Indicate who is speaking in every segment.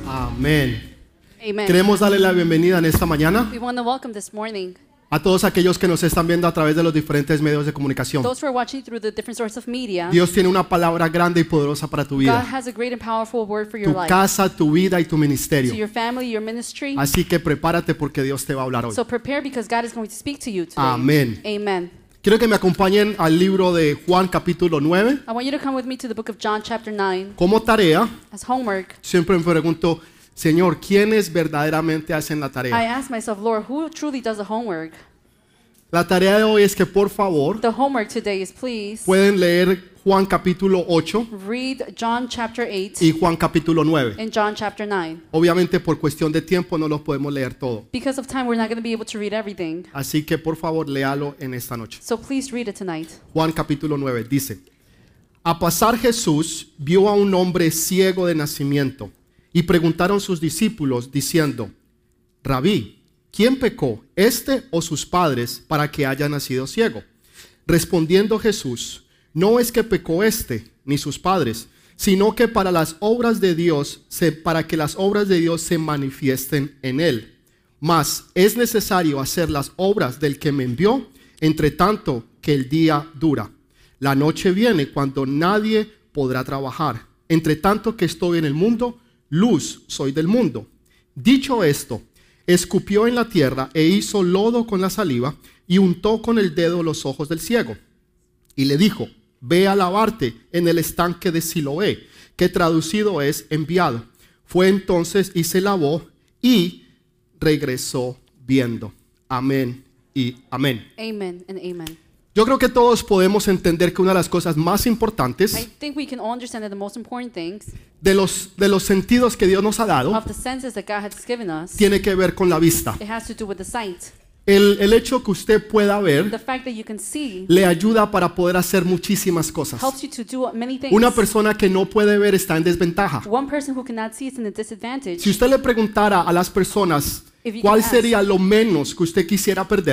Speaker 1: Amén.
Speaker 2: Amen.
Speaker 1: Queremos darle la bienvenida en esta mañana
Speaker 2: We want to welcome this morning
Speaker 1: a todos aquellos que nos están viendo a través de los diferentes medios de comunicación.
Speaker 2: those who are watching through the different sources of media.
Speaker 1: Dios tiene una palabra grande y poderosa para tu
Speaker 2: God
Speaker 1: vida,
Speaker 2: has a great and powerful word for your
Speaker 1: tu
Speaker 2: life,
Speaker 1: casa, tu vida y tu
Speaker 2: to
Speaker 1: ministerio.
Speaker 2: your family, your ministry.
Speaker 1: Así que prepárate porque Dios te va a hablar hoy.
Speaker 2: So prepare because God is going to speak to you today.
Speaker 1: Amén.
Speaker 2: Amen.
Speaker 1: Quiero que me acompañen al libro de Juan capítulo 9.
Speaker 2: I want you to come with me to the book of John chapter 9
Speaker 1: Como tarea,
Speaker 2: as homework.
Speaker 1: siempre me pregunto, Señor, ¿quiénes verdaderamente hacen la
Speaker 2: I
Speaker 1: tarea?
Speaker 2: asked myself, Lord, who truly does the homework?
Speaker 1: La tarea de hoy es que por favor
Speaker 2: The homework today is please
Speaker 1: pueden leer Juan capítulo 8
Speaker 2: read John chapter 8
Speaker 1: y Juan capítulo 9.
Speaker 2: and John chapter 9.
Speaker 1: Obviamente por cuestión de tiempo no los podemos leer todo.
Speaker 2: Because of time, we're not going to be able to read everything.
Speaker 1: Así que por favor léalo en esta noche.
Speaker 2: So please read it tonight.
Speaker 1: Juan capítulo 9 dice: A pasar Jesús vio a un hombre ciego de nacimiento y preguntaron sus discípulos diciendo: Rabí, ¿quién pecó, este o sus padres, para que haya nacido ciego? Respondiendo Jesús: No es que pecó este ni sus padres, sino que para las obras de Dios, para que las obras de Dios se manifiesten en él. Mas es necesario hacer las obras del que me envió, entre tanto que el día dura. La noche viene cuando nadie podrá trabajar. Entre tanto que estoy en el mundo, luz soy del mundo. Dicho esto, escupió en la tierra e hizo lodo con la saliva y untó con el dedo los ojos del ciego. Y le dijo: Ve a lavarte en el estanque de Siloé, que traducido es enviado. Fue entonces y se lavó y regresó viendo. Amén y amén.
Speaker 2: Amen and amen.
Speaker 1: Yo creo que todos podemos entender que una de las cosas más
Speaker 2: I
Speaker 1: importantes
Speaker 2: think we can all understand that the most important things
Speaker 1: de los sentidos que Dios nos ha dado
Speaker 2: of the senses that God has given us,
Speaker 1: tiene que ver con la vista.
Speaker 2: it has to do with the sight.
Speaker 1: El hecho que usted pueda
Speaker 2: The
Speaker 1: ver
Speaker 2: fact that you can see
Speaker 1: le ayuda para poder hacer muchísimas cosas.
Speaker 2: helps you to do many things.
Speaker 1: Una persona que no puede ver está en desventaja.
Speaker 2: One person who cannot see is in a disadvantage.
Speaker 1: Si usted le preguntara a las personas
Speaker 2: If you
Speaker 1: cuál
Speaker 2: can ask
Speaker 1: sería lo menos que usted quisiera perder,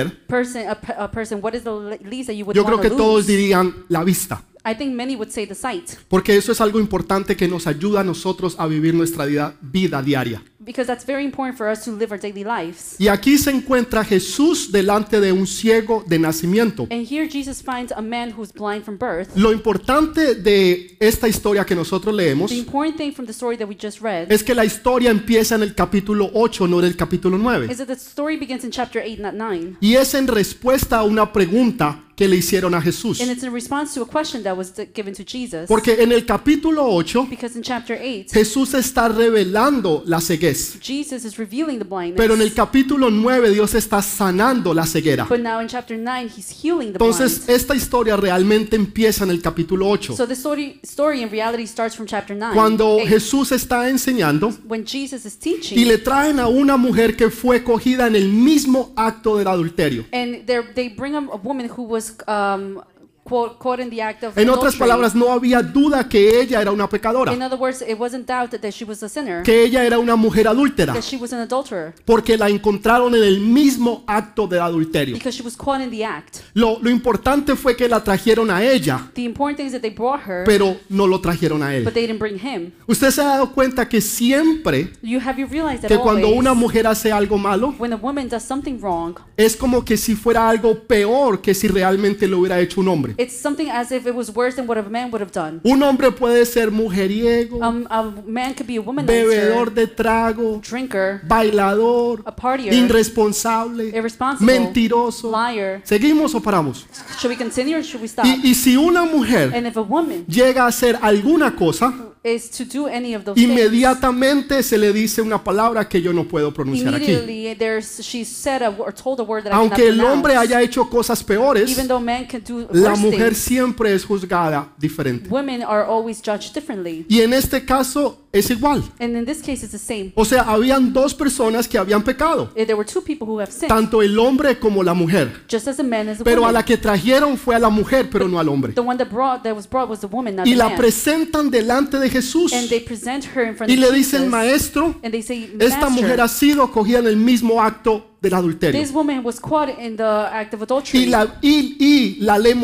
Speaker 2: A person, what is the least that you would
Speaker 1: yo creo
Speaker 2: want
Speaker 1: que
Speaker 2: to
Speaker 1: todos
Speaker 2: lose?
Speaker 1: dirían la vista.
Speaker 2: I think many would say the sight,
Speaker 1: Porque eso es algo importante que nos ayuda a nosotros a vivir nuestra vida diaria.
Speaker 2: because that's very important for us to live our daily lives.
Speaker 1: Y aquí se encuentra Jesús delante de un ciego de nacimiento.
Speaker 2: And here Jesus finds a man who's blind from birth.
Speaker 1: Lo importante de esta historia que nosotros leemos
Speaker 2: The important thing from the story that we just read
Speaker 1: es que la historia empieza en el capítulo 8, no en el capítulo 9.
Speaker 2: is that the story begins in chapter 8, not 9.
Speaker 1: Y es en respuesta a una pregunta que le hicieron a Jesús.
Speaker 2: And it's in response to a question that was given to Jesus.
Speaker 1: Porque en el capítulo 8
Speaker 2: Because in chapter 8,
Speaker 1: Jesús está revelando la ceguez.
Speaker 2: Jesus is revealing the blindness.
Speaker 1: Pero en el capítulo 9 Dios está sanando la ceguera.
Speaker 2: But now in chapter 9, he's healing the
Speaker 1: Entonces
Speaker 2: blind.
Speaker 1: esta historia realmente empieza en el capítulo 8.
Speaker 2: So the story in reality starts from chapter 9.
Speaker 1: Cuando
Speaker 2: 8.
Speaker 1: Jesús está enseñando
Speaker 2: When Jesus is
Speaker 1: y
Speaker 2: teaching,
Speaker 1: le traen a una mujer que fue cogida en el mismo acto del adulterio.
Speaker 2: and they bring a woman who was caught in the act of
Speaker 1: En otras
Speaker 2: adultery.
Speaker 1: palabras, no había duda que ella era una pecadora,
Speaker 2: In other words, it wasn't doubt that she was a sinner,
Speaker 1: que ella era una mujer adúltera,
Speaker 2: that she was an adulterer,
Speaker 1: porque la encontraron en el mismo acto del adulterio.
Speaker 2: because she was caught in the act.
Speaker 1: Lo importante fue que la trajeron a ella,
Speaker 2: The important thing is that they brought her,
Speaker 1: pero no lo trajeron a él.
Speaker 2: but they didn't bring him.
Speaker 1: ¿Usted se ha dado cuenta que siempre
Speaker 2: Have you realized that
Speaker 1: que cuando
Speaker 2: always,
Speaker 1: una mujer hace algo malo,
Speaker 2: when a woman does something wrong,
Speaker 1: es como que si fuera algo peor que si realmente lo hubiera hecho un hombre?
Speaker 2: it's something as if it was worse than what a man would have done.
Speaker 1: Un hombre puede ser mujeriego,
Speaker 2: A man could be a
Speaker 1: bebedor
Speaker 2: womanizer,
Speaker 1: de trago,
Speaker 2: drinker,
Speaker 1: bailador,
Speaker 2: a partier,
Speaker 1: irresponsable,
Speaker 2: irresponsible,
Speaker 1: mentiroso.
Speaker 2: liar.
Speaker 1: ¿Seguimos o paramos?
Speaker 2: Should we continue or should we stop?
Speaker 1: Y si una mujer
Speaker 2: And if a woman
Speaker 1: llega a hacer alguna cosa,
Speaker 2: is to do any of those things,
Speaker 1: inmediatamente se le dice una palabra que yo no puedo pronunciar aquí.
Speaker 2: immediately she's said or told a word that
Speaker 1: Aunque
Speaker 2: I
Speaker 1: el
Speaker 2: cannot
Speaker 1: hombre
Speaker 2: pronounce.
Speaker 1: haya hecho cosas peores,
Speaker 2: Even though man can do
Speaker 1: la
Speaker 2: worse
Speaker 1: mujer
Speaker 2: things,
Speaker 1: siempre es juzgada diferente.
Speaker 2: women are always judged differently.
Speaker 1: Y en este caso es igual.
Speaker 2: And in this case, it's the same.
Speaker 1: O sea, habían dos personas que habían pecado,
Speaker 2: There were two people who have sinned,
Speaker 1: tanto el hombre como la mujer.
Speaker 2: just as a man as a
Speaker 1: Pero a
Speaker 2: woman.
Speaker 1: la que trajeron fue a la mujer, pero no al hombre.
Speaker 2: The one that was brought was the woman, not
Speaker 1: Y
Speaker 2: the
Speaker 1: la
Speaker 2: man.
Speaker 1: presentan delante de Jesús
Speaker 2: And they present her in front
Speaker 1: y
Speaker 2: of
Speaker 1: le
Speaker 2: Jesus.
Speaker 1: dicen: Maestro,
Speaker 2: And they say,
Speaker 1: esta
Speaker 2: Master,
Speaker 1: mujer ha sido cogida en el mismo acto del adulterio.
Speaker 2: This woman was caught in the act of adultery.
Speaker 1: Y la ley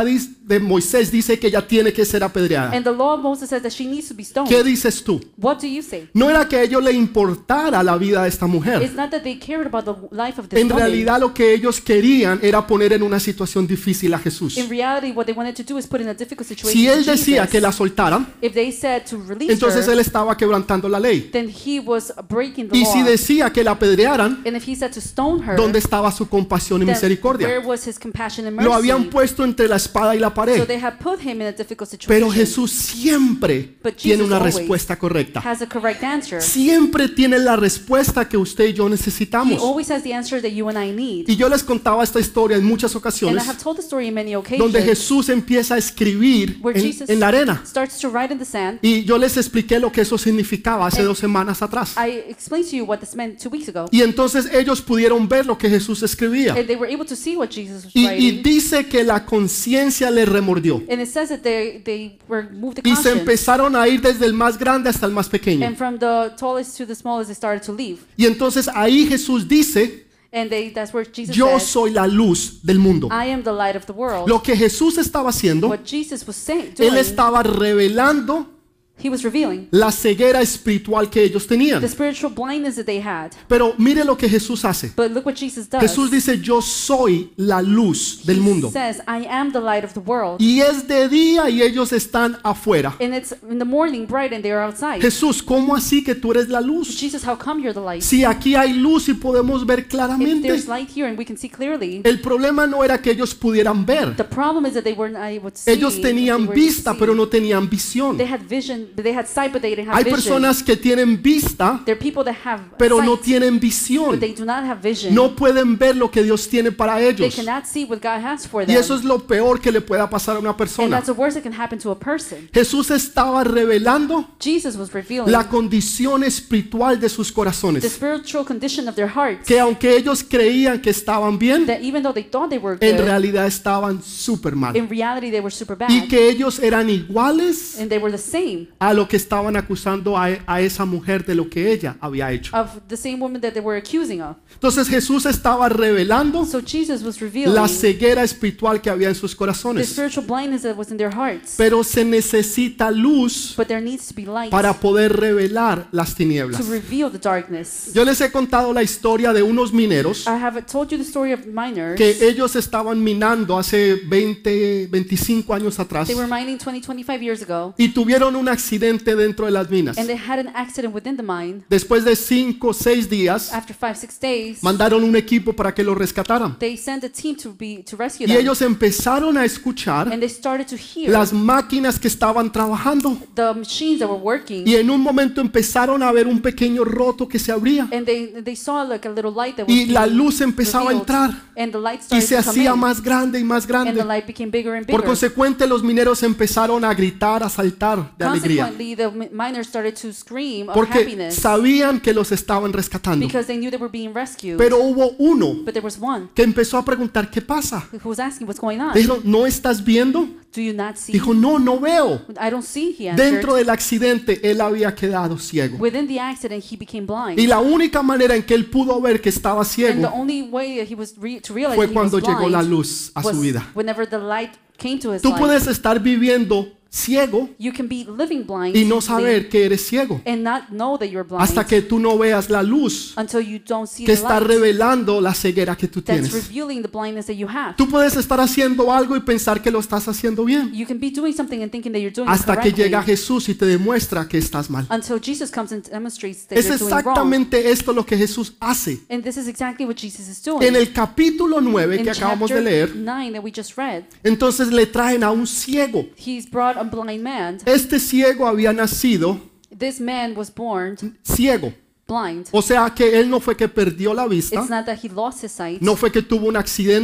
Speaker 1: de Moisés dice que ella tiene que ser apedreada.
Speaker 2: And the law of Moses says that she needs to be stoned.
Speaker 1: ¿Qué dices tú?
Speaker 2: What do you say?
Speaker 1: No era que a ellos le importara la vida de esta mujer.
Speaker 2: It's not that they cared about the life of this
Speaker 1: En
Speaker 2: woman.
Speaker 1: realidad lo que ellos querían era poner en una situación difícil a Jesús.
Speaker 2: In reality, what they wanted to do is put in a difficult situation
Speaker 1: Si él
Speaker 2: to
Speaker 1: decía
Speaker 2: Jesus.
Speaker 1: que la soltaran,
Speaker 2: If they said to release
Speaker 1: entonces
Speaker 2: her,
Speaker 1: él estaba quebrantando la ley.
Speaker 2: then he was breaking the
Speaker 1: Y
Speaker 2: law.
Speaker 1: si decía que la apedrearan,
Speaker 2: And if he said to stone her,
Speaker 1: ¿dónde estaba su compasión y
Speaker 2: then
Speaker 1: misericordia?
Speaker 2: where was his compassion and mercy?
Speaker 1: Lo habían puesto entre la espada y la
Speaker 2: So
Speaker 1: pared.
Speaker 2: they had put him in a difficult situation.
Speaker 1: Pero Jesús siempre
Speaker 2: But
Speaker 1: tiene
Speaker 2: Jesus
Speaker 1: una
Speaker 2: always
Speaker 1: respuesta correcta.
Speaker 2: has a correct answer.
Speaker 1: Siempre tiene la respuesta que usted y yo
Speaker 2: He
Speaker 1: necesitamos.
Speaker 2: always has the answer that you and I need.
Speaker 1: Y yo les contaba esta historia en muchas
Speaker 2: And I
Speaker 1: ocasiones
Speaker 2: have told the story in many
Speaker 1: donde
Speaker 2: occasions
Speaker 1: Jesús empieza a escribir
Speaker 2: where Jesus
Speaker 1: en la arena.
Speaker 2: starts to write in the sand.
Speaker 1: Y yo les expliqué lo que eso significaba hace 2 semanas atrás.
Speaker 2: I explained to you what this meant 2 weeks ago.
Speaker 1: Y entonces ellos pudieron ver lo que Jesús escribía.
Speaker 2: And they were able to see what Jesus was
Speaker 1: Y
Speaker 2: writing.
Speaker 1: dice que la conciencia le remordió.
Speaker 2: And it says that they were moved to
Speaker 1: Y se
Speaker 2: conscience.
Speaker 1: empezaron a ir desde el más grande hasta el más pequeño.
Speaker 2: And from the tallest to the smallest, they started to leave.
Speaker 1: Y entonces ahí Jesús dice,
Speaker 2: And that's where Jesus
Speaker 1: yo
Speaker 2: said,
Speaker 1: soy la luz del mundo.
Speaker 2: I am the light of the world.
Speaker 1: Lo que Jesús estaba haciendo,
Speaker 2: What Jesus was saying,
Speaker 1: él
Speaker 2: doing,
Speaker 1: estaba revelando
Speaker 2: he was revealing
Speaker 1: la ceguera espiritual que ellos tenían.
Speaker 2: the spiritual blindness that they had.
Speaker 1: Pero mire lo que Jesús hace.
Speaker 2: But look what Jesus does.
Speaker 1: Jesús dice, yo soy la luz del
Speaker 2: He
Speaker 1: mundo.
Speaker 2: says, I am the light of the world.
Speaker 1: Y es de día y ellos están afuera.
Speaker 2: And it's in the morning bright and they are outside.
Speaker 1: Jesús, ¿cómo así que tú eres la luz?
Speaker 2: Jesus, how come you're the light?
Speaker 1: Si aquí hay luz y podemos ver
Speaker 2: If
Speaker 1: claramente.
Speaker 2: there's light here and we can see clearly,
Speaker 1: El problema no era que ellos pudieran ver.
Speaker 2: the problem is that they were not able to see.
Speaker 1: Ellos tenían
Speaker 2: They were able to
Speaker 1: vista,
Speaker 2: see.
Speaker 1: pero no tenían visión.
Speaker 2: They had vision, they had sight, but they didn't have
Speaker 1: Hay
Speaker 2: vision.
Speaker 1: personas que tienen vista,
Speaker 2: There are people that have
Speaker 1: pero no
Speaker 2: sight,
Speaker 1: tienen
Speaker 2: but
Speaker 1: visión.
Speaker 2: they do not have vision.
Speaker 1: No pueden ver lo que Dios tiene para
Speaker 2: They
Speaker 1: ellos.
Speaker 2: cannot see what God has for
Speaker 1: Y
Speaker 2: them.
Speaker 1: eso es lo peor que le pueda pasar a una
Speaker 2: And
Speaker 1: persona.
Speaker 2: that's the worst that can happen to a person.
Speaker 1: Jesús estaba revelando
Speaker 2: Jesus was revealing
Speaker 1: la condición espiritual de sus
Speaker 2: the
Speaker 1: corazones.
Speaker 2: spiritual condition of their hearts.
Speaker 1: Que aunque ellos creían que estaban bien,
Speaker 2: That even though they thought they were
Speaker 1: en
Speaker 2: good,
Speaker 1: realidad estaban súper mal.
Speaker 2: in reality they were super bad.
Speaker 1: Y que ellos eran iguales
Speaker 2: And they were the same
Speaker 1: a lo que estaban acusando a esa mujer de lo que ella había hecho.
Speaker 2: of the same woman that they were accusing of.
Speaker 1: Entonces Jesús estaba revelando
Speaker 2: So Jesus was revealing
Speaker 1: la ceguera espiritual que había en sus
Speaker 2: the
Speaker 1: corazones.
Speaker 2: spiritual blindness that was in their hearts.
Speaker 1: Pero se necesita luz
Speaker 2: But there needs to be light
Speaker 1: para poder revelar las
Speaker 2: to
Speaker 1: tinieblas.
Speaker 2: reveal the darkness.
Speaker 1: Yo les he contado la historia de unos mineros
Speaker 2: I have told you the story of miners.
Speaker 1: que ellos estaban minando hace 20, 25 años atrás
Speaker 2: They were mining 25 years ago,
Speaker 1: y tuvieron un accidente dentro de las minas.
Speaker 2: and they had an accident within the mine.
Speaker 1: Después de 5 o 6 días,
Speaker 2: After 5-6 days,
Speaker 1: mandaron un equipo para que lo rescataran.
Speaker 2: they sent a team to rescue
Speaker 1: Y
Speaker 2: them.
Speaker 1: ellos empezaron a escuchar
Speaker 2: And they started to hear
Speaker 1: las máquinas que estaban trabajando.
Speaker 2: the machines that were working.
Speaker 1: Y en un momento empezaron a ver un pequeño roto que se abría.
Speaker 2: And they saw like a little light that was
Speaker 1: Y la
Speaker 2: being
Speaker 1: luz empezaba a
Speaker 2: revealed.
Speaker 1: entrar.
Speaker 2: And the light
Speaker 1: Y
Speaker 2: started
Speaker 1: se
Speaker 2: to come
Speaker 1: hacía
Speaker 2: in.
Speaker 1: más grande y más
Speaker 2: And the
Speaker 1: grande.
Speaker 2: light became bigger and
Speaker 1: Por
Speaker 2: bigger.
Speaker 1: consecuente, los mineros empezaron a gritar, a saltar de alegría.
Speaker 2: Consequently, the miners started to scream of
Speaker 1: Porque
Speaker 2: happiness
Speaker 1: sabían que los estaban rescatando.
Speaker 2: because they knew they were being rescued.
Speaker 1: Pero hubo uno
Speaker 2: But there was one
Speaker 1: que empezó a preguntar, ¿qué pasa?
Speaker 2: who was asking, what's going on?
Speaker 1: Dijo, ¿no estás viendo?
Speaker 2: Do you not see?
Speaker 1: Dijo, no, no veo.
Speaker 2: I don't see, he answered.
Speaker 1: Dentro del accidente, él había quedado ciego.
Speaker 2: Within the accident, he became blind.
Speaker 1: Y la única manera en que él pudo ver que estaba
Speaker 2: And the
Speaker 1: ciego
Speaker 2: only way that he was to realize
Speaker 1: fue
Speaker 2: that he was
Speaker 1: cuando llegó la
Speaker 2: blind
Speaker 1: luz a su
Speaker 2: was
Speaker 1: vida.
Speaker 2: whenever the light came to his
Speaker 1: Tú
Speaker 2: life.
Speaker 1: puedes estar viviendo ciego
Speaker 2: You can be living blind
Speaker 1: y no saber que eres ciego
Speaker 2: and not know that you're blind
Speaker 1: hasta que tú no veas la luz
Speaker 2: until you don't see
Speaker 1: que
Speaker 2: the
Speaker 1: está
Speaker 2: light
Speaker 1: revelando la ceguera que tú
Speaker 2: that's
Speaker 1: tienes.
Speaker 2: revealing the blindness that you have.
Speaker 1: Tú puedes estar haciendo algo y pensar que lo estás haciendo bien
Speaker 2: You can be doing something and thinking that you're doing it
Speaker 1: hasta que
Speaker 2: correctly
Speaker 1: llega Jesús y te demuestra que estás mal.
Speaker 2: until Jesus comes and demonstrates that
Speaker 1: Es
Speaker 2: you're doing wrong.
Speaker 1: exactamente esto lo que Jesús hace.
Speaker 2: And this is exactly what Jesus is doing.
Speaker 1: En el capítulo 9
Speaker 2: In
Speaker 1: que acabamos de
Speaker 2: chapter
Speaker 1: leer,
Speaker 2: 9 that we just read,
Speaker 1: entonces le traen a un ciego.
Speaker 2: he's brought a blind man.
Speaker 1: Este ciego había nacido
Speaker 2: This man was born
Speaker 1: ciego.
Speaker 2: blind.
Speaker 1: O sea que él no fue que perdió la
Speaker 2: It's
Speaker 1: vista,
Speaker 2: not that he lost his sight.
Speaker 1: no fue que tuvo un accidente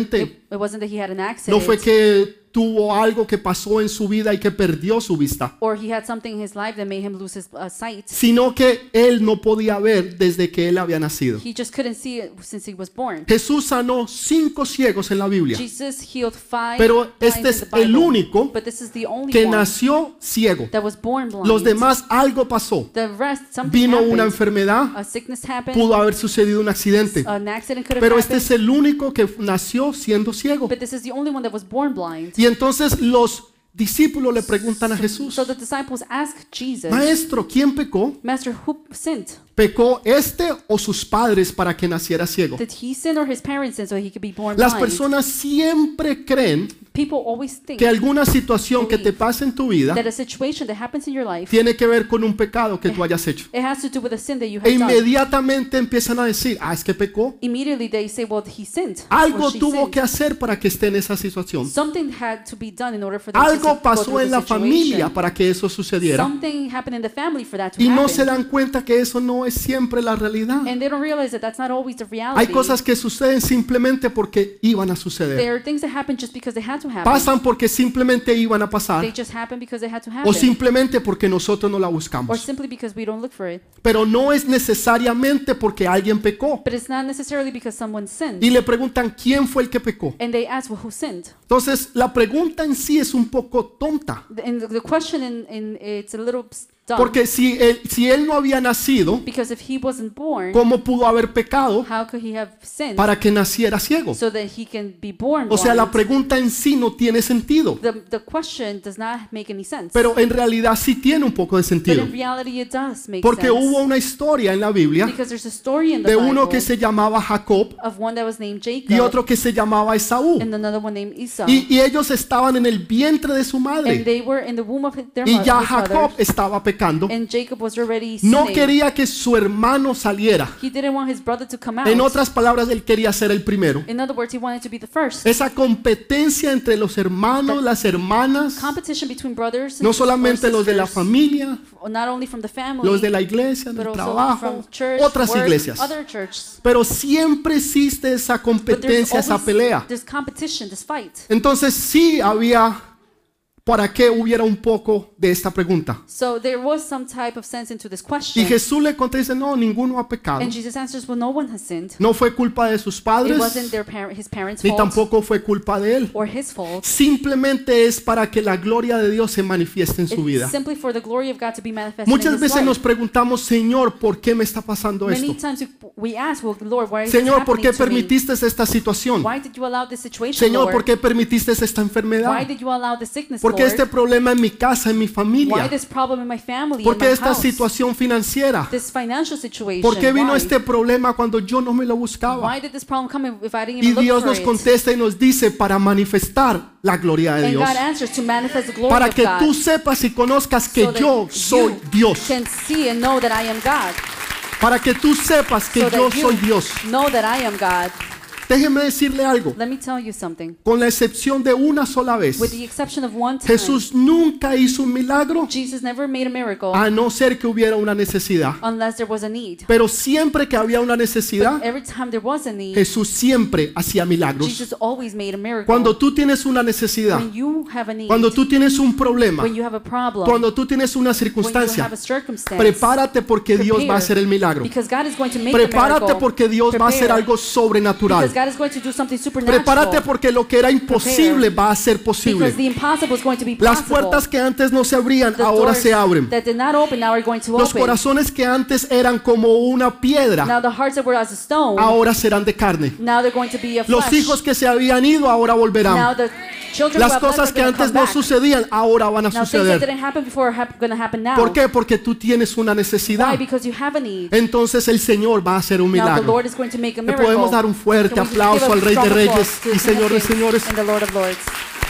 Speaker 2: It wasn't that he had an
Speaker 1: No
Speaker 2: accident
Speaker 1: fue que tuvo algo que pasó en su vida y que perdió su vista,
Speaker 2: or he had something in his life that made him lose his sight.
Speaker 1: sino que él no podía ver desde que él había nacido.
Speaker 2: He just couldn't see it since he was born.
Speaker 1: Jesús sanó 5 ciegos en la Biblia,
Speaker 2: Jesus healed 5
Speaker 1: pero
Speaker 2: blinds
Speaker 1: este
Speaker 2: in
Speaker 1: es
Speaker 2: the Bible,
Speaker 1: el único
Speaker 2: but this is the only
Speaker 1: que
Speaker 2: one
Speaker 1: nació ciego.
Speaker 2: that was born blind.
Speaker 1: Los demás algo pasó.
Speaker 2: The rest, something
Speaker 1: Vino
Speaker 2: happened.
Speaker 1: una enfermedad,
Speaker 2: A sickness happened.
Speaker 1: pudo haber sucedido un accidente,
Speaker 2: An accident could have
Speaker 1: pero este
Speaker 2: happened.
Speaker 1: es el único que nació siendo ciego.
Speaker 2: But this is the only one that was born blind.
Speaker 1: Y entonces los discípulos le preguntan a Jesús,
Speaker 2: So the disciples asked Jesus,
Speaker 1: Maestro, ¿quién pecó?
Speaker 2: Master, who sinned?
Speaker 1: ¿Pecó este o sus padres para que naciera ciego?
Speaker 2: Did he sin or his parents sin so he could be born
Speaker 1: Las
Speaker 2: blind?
Speaker 1: personas siempre creen
Speaker 2: People always think
Speaker 1: que alguna situación que te pase en tu vida
Speaker 2: that a situation that happens in your life,
Speaker 1: tiene que ver con un pecado que tú hayas hecho.
Speaker 2: it has to do with a sin that you
Speaker 1: E
Speaker 2: have done.
Speaker 1: inmediatamente empiezan a decir, es que pecó.
Speaker 2: Immediately they say, well, he sinned.
Speaker 1: Algo
Speaker 2: or she
Speaker 1: tuvo
Speaker 2: sinned.
Speaker 1: que hacer para que esté en esa situación.
Speaker 2: Something had to be done in order for them to
Speaker 1: Algo
Speaker 2: go
Speaker 1: pasó
Speaker 2: through
Speaker 1: en
Speaker 2: the
Speaker 1: la
Speaker 2: situation.
Speaker 1: familia para que eso sucediera.
Speaker 2: Something happened in the family for that to
Speaker 1: Y no
Speaker 2: happen.
Speaker 1: se dan cuenta que eso no es siempre la realidad.
Speaker 2: And they don't realize that that's not always the reality.
Speaker 1: Hay cosas que suceden simplemente porque iban a suceder.
Speaker 2: There are things that happen just because they had to happen.
Speaker 1: Pasan porque simplemente iban a
Speaker 2: They
Speaker 1: pasar
Speaker 2: just happen because they had to
Speaker 1: o
Speaker 2: happen.
Speaker 1: simplemente porque nosotros no la
Speaker 2: Or
Speaker 1: buscamos.
Speaker 2: simply because we don't look for it.
Speaker 1: Pero no es necesariamente porque alguien pecó.
Speaker 2: But it's not necessarily because someone sinned.
Speaker 1: Y le preguntan quién fue el que pecó.
Speaker 2: And they ask, well, who sinned?
Speaker 1: Entonces la pregunta en sí es un poco tonta.
Speaker 2: And the question it's a little dumb.
Speaker 1: Porque si él no había nacido,
Speaker 2: Because if he wasn't born,
Speaker 1: ¿cómo pudo haber pecado
Speaker 2: how could he have sinned
Speaker 1: para que naciera ciego?
Speaker 2: so that he can be born
Speaker 1: O sea, la
Speaker 2: blind?
Speaker 1: pregunta en sí no tiene sentido.
Speaker 2: The question does not make any sense.
Speaker 1: Pero en realidad sí tiene un poco de
Speaker 2: But
Speaker 1: sentido.
Speaker 2: in reality it does make
Speaker 1: Porque
Speaker 2: sense.
Speaker 1: hubo una historia en la Biblia
Speaker 2: Because there's a story in the
Speaker 1: de uno
Speaker 2: Bible
Speaker 1: que se llamaba Jacob
Speaker 2: of one that was named Jacob
Speaker 1: y otro que se llamaba Esaú.
Speaker 2: and another one named Esau.
Speaker 1: Y ellos estaban en el vientre de su
Speaker 2: And
Speaker 1: madre.
Speaker 2: they were in the womb of their
Speaker 1: Y
Speaker 2: mother,
Speaker 1: ya
Speaker 2: his
Speaker 1: Jacob
Speaker 2: mother,
Speaker 1: estaba pecando.
Speaker 2: and Jacob was already
Speaker 1: No
Speaker 2: sinning.
Speaker 1: quería que su hermano saliera.
Speaker 2: He didn't want his brother to come out.
Speaker 1: En otras palabras, él quería ser el primero.
Speaker 2: In other words, he wanted to be the first.
Speaker 1: Esa competencia entre los hermanos, las hermanas,
Speaker 2: Competition between brothers and
Speaker 1: no solamente
Speaker 2: or
Speaker 1: los de la
Speaker 2: sisters,
Speaker 1: familia,
Speaker 2: not only from the family,
Speaker 1: los de la iglesia,
Speaker 2: but
Speaker 1: del
Speaker 2: also
Speaker 1: trabajo,
Speaker 2: from church,
Speaker 1: otras
Speaker 2: work,
Speaker 1: iglesias.
Speaker 2: other churches.
Speaker 1: Pero siempre existe esa
Speaker 2: But there's
Speaker 1: competencia, esa
Speaker 2: always
Speaker 1: pelea.
Speaker 2: this competition, this fight.
Speaker 1: Entonces sí había, para que hubiera un poco de esta pregunta.
Speaker 2: So there was some type of sense into this
Speaker 1: Y
Speaker 2: question.
Speaker 1: Jesús le contesta, no, ninguno ha pecado.
Speaker 2: And Jesus answers, well, no one has sinned.
Speaker 1: No fue culpa de sus
Speaker 2: It
Speaker 1: padres,
Speaker 2: wasn't his parents'
Speaker 1: ni
Speaker 2: fault
Speaker 1: tampoco fue culpa de él.
Speaker 2: or his fault.
Speaker 1: Simplemente es para que la gloria de Dios se manifieste en su
Speaker 2: It's
Speaker 1: vida.
Speaker 2: simply for the glory of God to be manifested in
Speaker 1: Muchas
Speaker 2: his
Speaker 1: veces
Speaker 2: life.
Speaker 1: nos preguntamos, Señor, ¿por qué me está pasando
Speaker 2: Many
Speaker 1: esto?
Speaker 2: times we ask, well, Lord, why is
Speaker 1: Señor,
Speaker 2: this
Speaker 1: ¿por qué
Speaker 2: happening to me?
Speaker 1: permitiste esta situación?
Speaker 2: Why did you allow this situation,
Speaker 1: Señor,
Speaker 2: Lord?
Speaker 1: ¿por qué permitiste esta
Speaker 2: Why
Speaker 1: enfermedad?
Speaker 2: did you allow this sickness,
Speaker 1: ¿Por qué
Speaker 2: Lord?
Speaker 1: este problema en mi casa, en mi
Speaker 2: Why
Speaker 1: familia?
Speaker 2: this problem in my family,
Speaker 1: ¿Por
Speaker 2: in
Speaker 1: qué
Speaker 2: my
Speaker 1: esta
Speaker 2: house?
Speaker 1: situación financiera?
Speaker 2: This financial situation.
Speaker 1: ¿Por qué vino
Speaker 2: Why?
Speaker 1: este problema cuando yo no me lo buscaba?
Speaker 2: Why did this problem come if I didn't
Speaker 1: Y
Speaker 2: even look
Speaker 1: Dios
Speaker 2: for
Speaker 1: nos
Speaker 2: it?
Speaker 1: contesta y nos dice para manifestar la gloria de
Speaker 2: And
Speaker 1: Dios.
Speaker 2: God answers to manifest the glory
Speaker 1: Para
Speaker 2: of
Speaker 1: que
Speaker 2: God.
Speaker 1: tú sepas y conozcas que
Speaker 2: So that
Speaker 1: yo soy
Speaker 2: you
Speaker 1: Dios.
Speaker 2: can see and know that I am God.
Speaker 1: Para que tú sepas que
Speaker 2: So
Speaker 1: yo
Speaker 2: that you
Speaker 1: soy Dios.
Speaker 2: know that I am God.
Speaker 1: Déjeme decirle algo.
Speaker 2: Let me tell you something.
Speaker 1: Con la excepción de una sola vez,
Speaker 2: With the exception of one time,
Speaker 1: Jesús nunca hizo un milagro
Speaker 2: Jesus never made a miracle
Speaker 1: a no ser que hubiera una necesidad.
Speaker 2: unless there was a need.
Speaker 1: Pero siempre que había una necesidad,
Speaker 2: Every time there was a need,
Speaker 1: Jesús siempre hacía milagros.
Speaker 2: Jesus always made a miracle.
Speaker 1: Cuando tú tienes una necesidad,
Speaker 2: When you have a need,
Speaker 1: cuando tú tienes un problema,
Speaker 2: when you have a problem,
Speaker 1: cuando tú tienes una
Speaker 2: when you
Speaker 1: circunstancia,
Speaker 2: have a circumstance,
Speaker 1: prepárate porque Dios va a hacer el milagro.
Speaker 2: because God is going to make
Speaker 1: Prepárate
Speaker 2: a miracle.
Speaker 1: porque Dios va a hacer
Speaker 2: Prepare,
Speaker 1: algo sobrenatural.
Speaker 2: because God is going to do something supernatural.
Speaker 1: Prepárate porque lo que era imposible va a ser
Speaker 2: Because
Speaker 1: posible.
Speaker 2: the impossible is going to be
Speaker 1: Las
Speaker 2: possible.
Speaker 1: puertas que antes no se abrían,
Speaker 2: The
Speaker 1: ahora
Speaker 2: doors
Speaker 1: se abren.
Speaker 2: that did not open now are going to
Speaker 1: Los
Speaker 2: open.
Speaker 1: corazones que antes eran como una piedra,
Speaker 2: Now the hearts that were as a stone,
Speaker 1: ahora serán de carne.
Speaker 2: now they're going to be of
Speaker 1: Los
Speaker 2: flesh.
Speaker 1: hijos que se habían ido, ahora
Speaker 2: Now
Speaker 1: volverán.
Speaker 2: the children
Speaker 1: Las
Speaker 2: who have left
Speaker 1: cosas
Speaker 2: are
Speaker 1: que
Speaker 2: going to
Speaker 1: antes
Speaker 2: come
Speaker 1: no
Speaker 2: back.
Speaker 1: sucedían, ahora van a
Speaker 2: Now things that
Speaker 1: suceder.
Speaker 2: didn't happen before are going to happen now.
Speaker 1: ¿Por qué? Porque tú tienes una
Speaker 2: Why?
Speaker 1: necesidad.
Speaker 2: Because you have a need.
Speaker 1: Entonces el Señor va a hacer un
Speaker 2: Now the
Speaker 1: milagro.
Speaker 2: Lord is going to make a
Speaker 1: Le
Speaker 2: miracle.
Speaker 1: podemos dar un fuerte
Speaker 2: Can we just
Speaker 1: aplauso
Speaker 2: give a
Speaker 1: al Rey de
Speaker 2: strong
Speaker 1: Reyes
Speaker 2: applause to
Speaker 1: y
Speaker 2: the King
Speaker 1: Señor
Speaker 2: of
Speaker 1: de
Speaker 2: Kings
Speaker 1: Señores.
Speaker 2: and the Lord of Lords.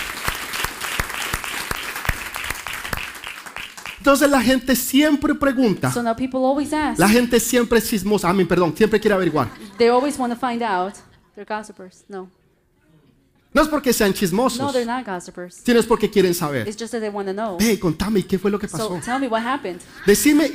Speaker 1: Entonces la gente siempre pregunta,
Speaker 2: So now people always ask.
Speaker 1: la gente siempre es chismosa, perdón, siempre quiere averiguar.
Speaker 2: They always want to find out. They're gossipers. No.
Speaker 1: No es porque sean
Speaker 2: No,
Speaker 1: chismosos,
Speaker 2: they're not gossipers.
Speaker 1: sino es porque quieren saber.
Speaker 2: It's just that they want to know.
Speaker 1: Hey, contame, ¿y qué fue lo que
Speaker 2: So
Speaker 1: pasó?
Speaker 2: tell me what happened.
Speaker 1: Decime, y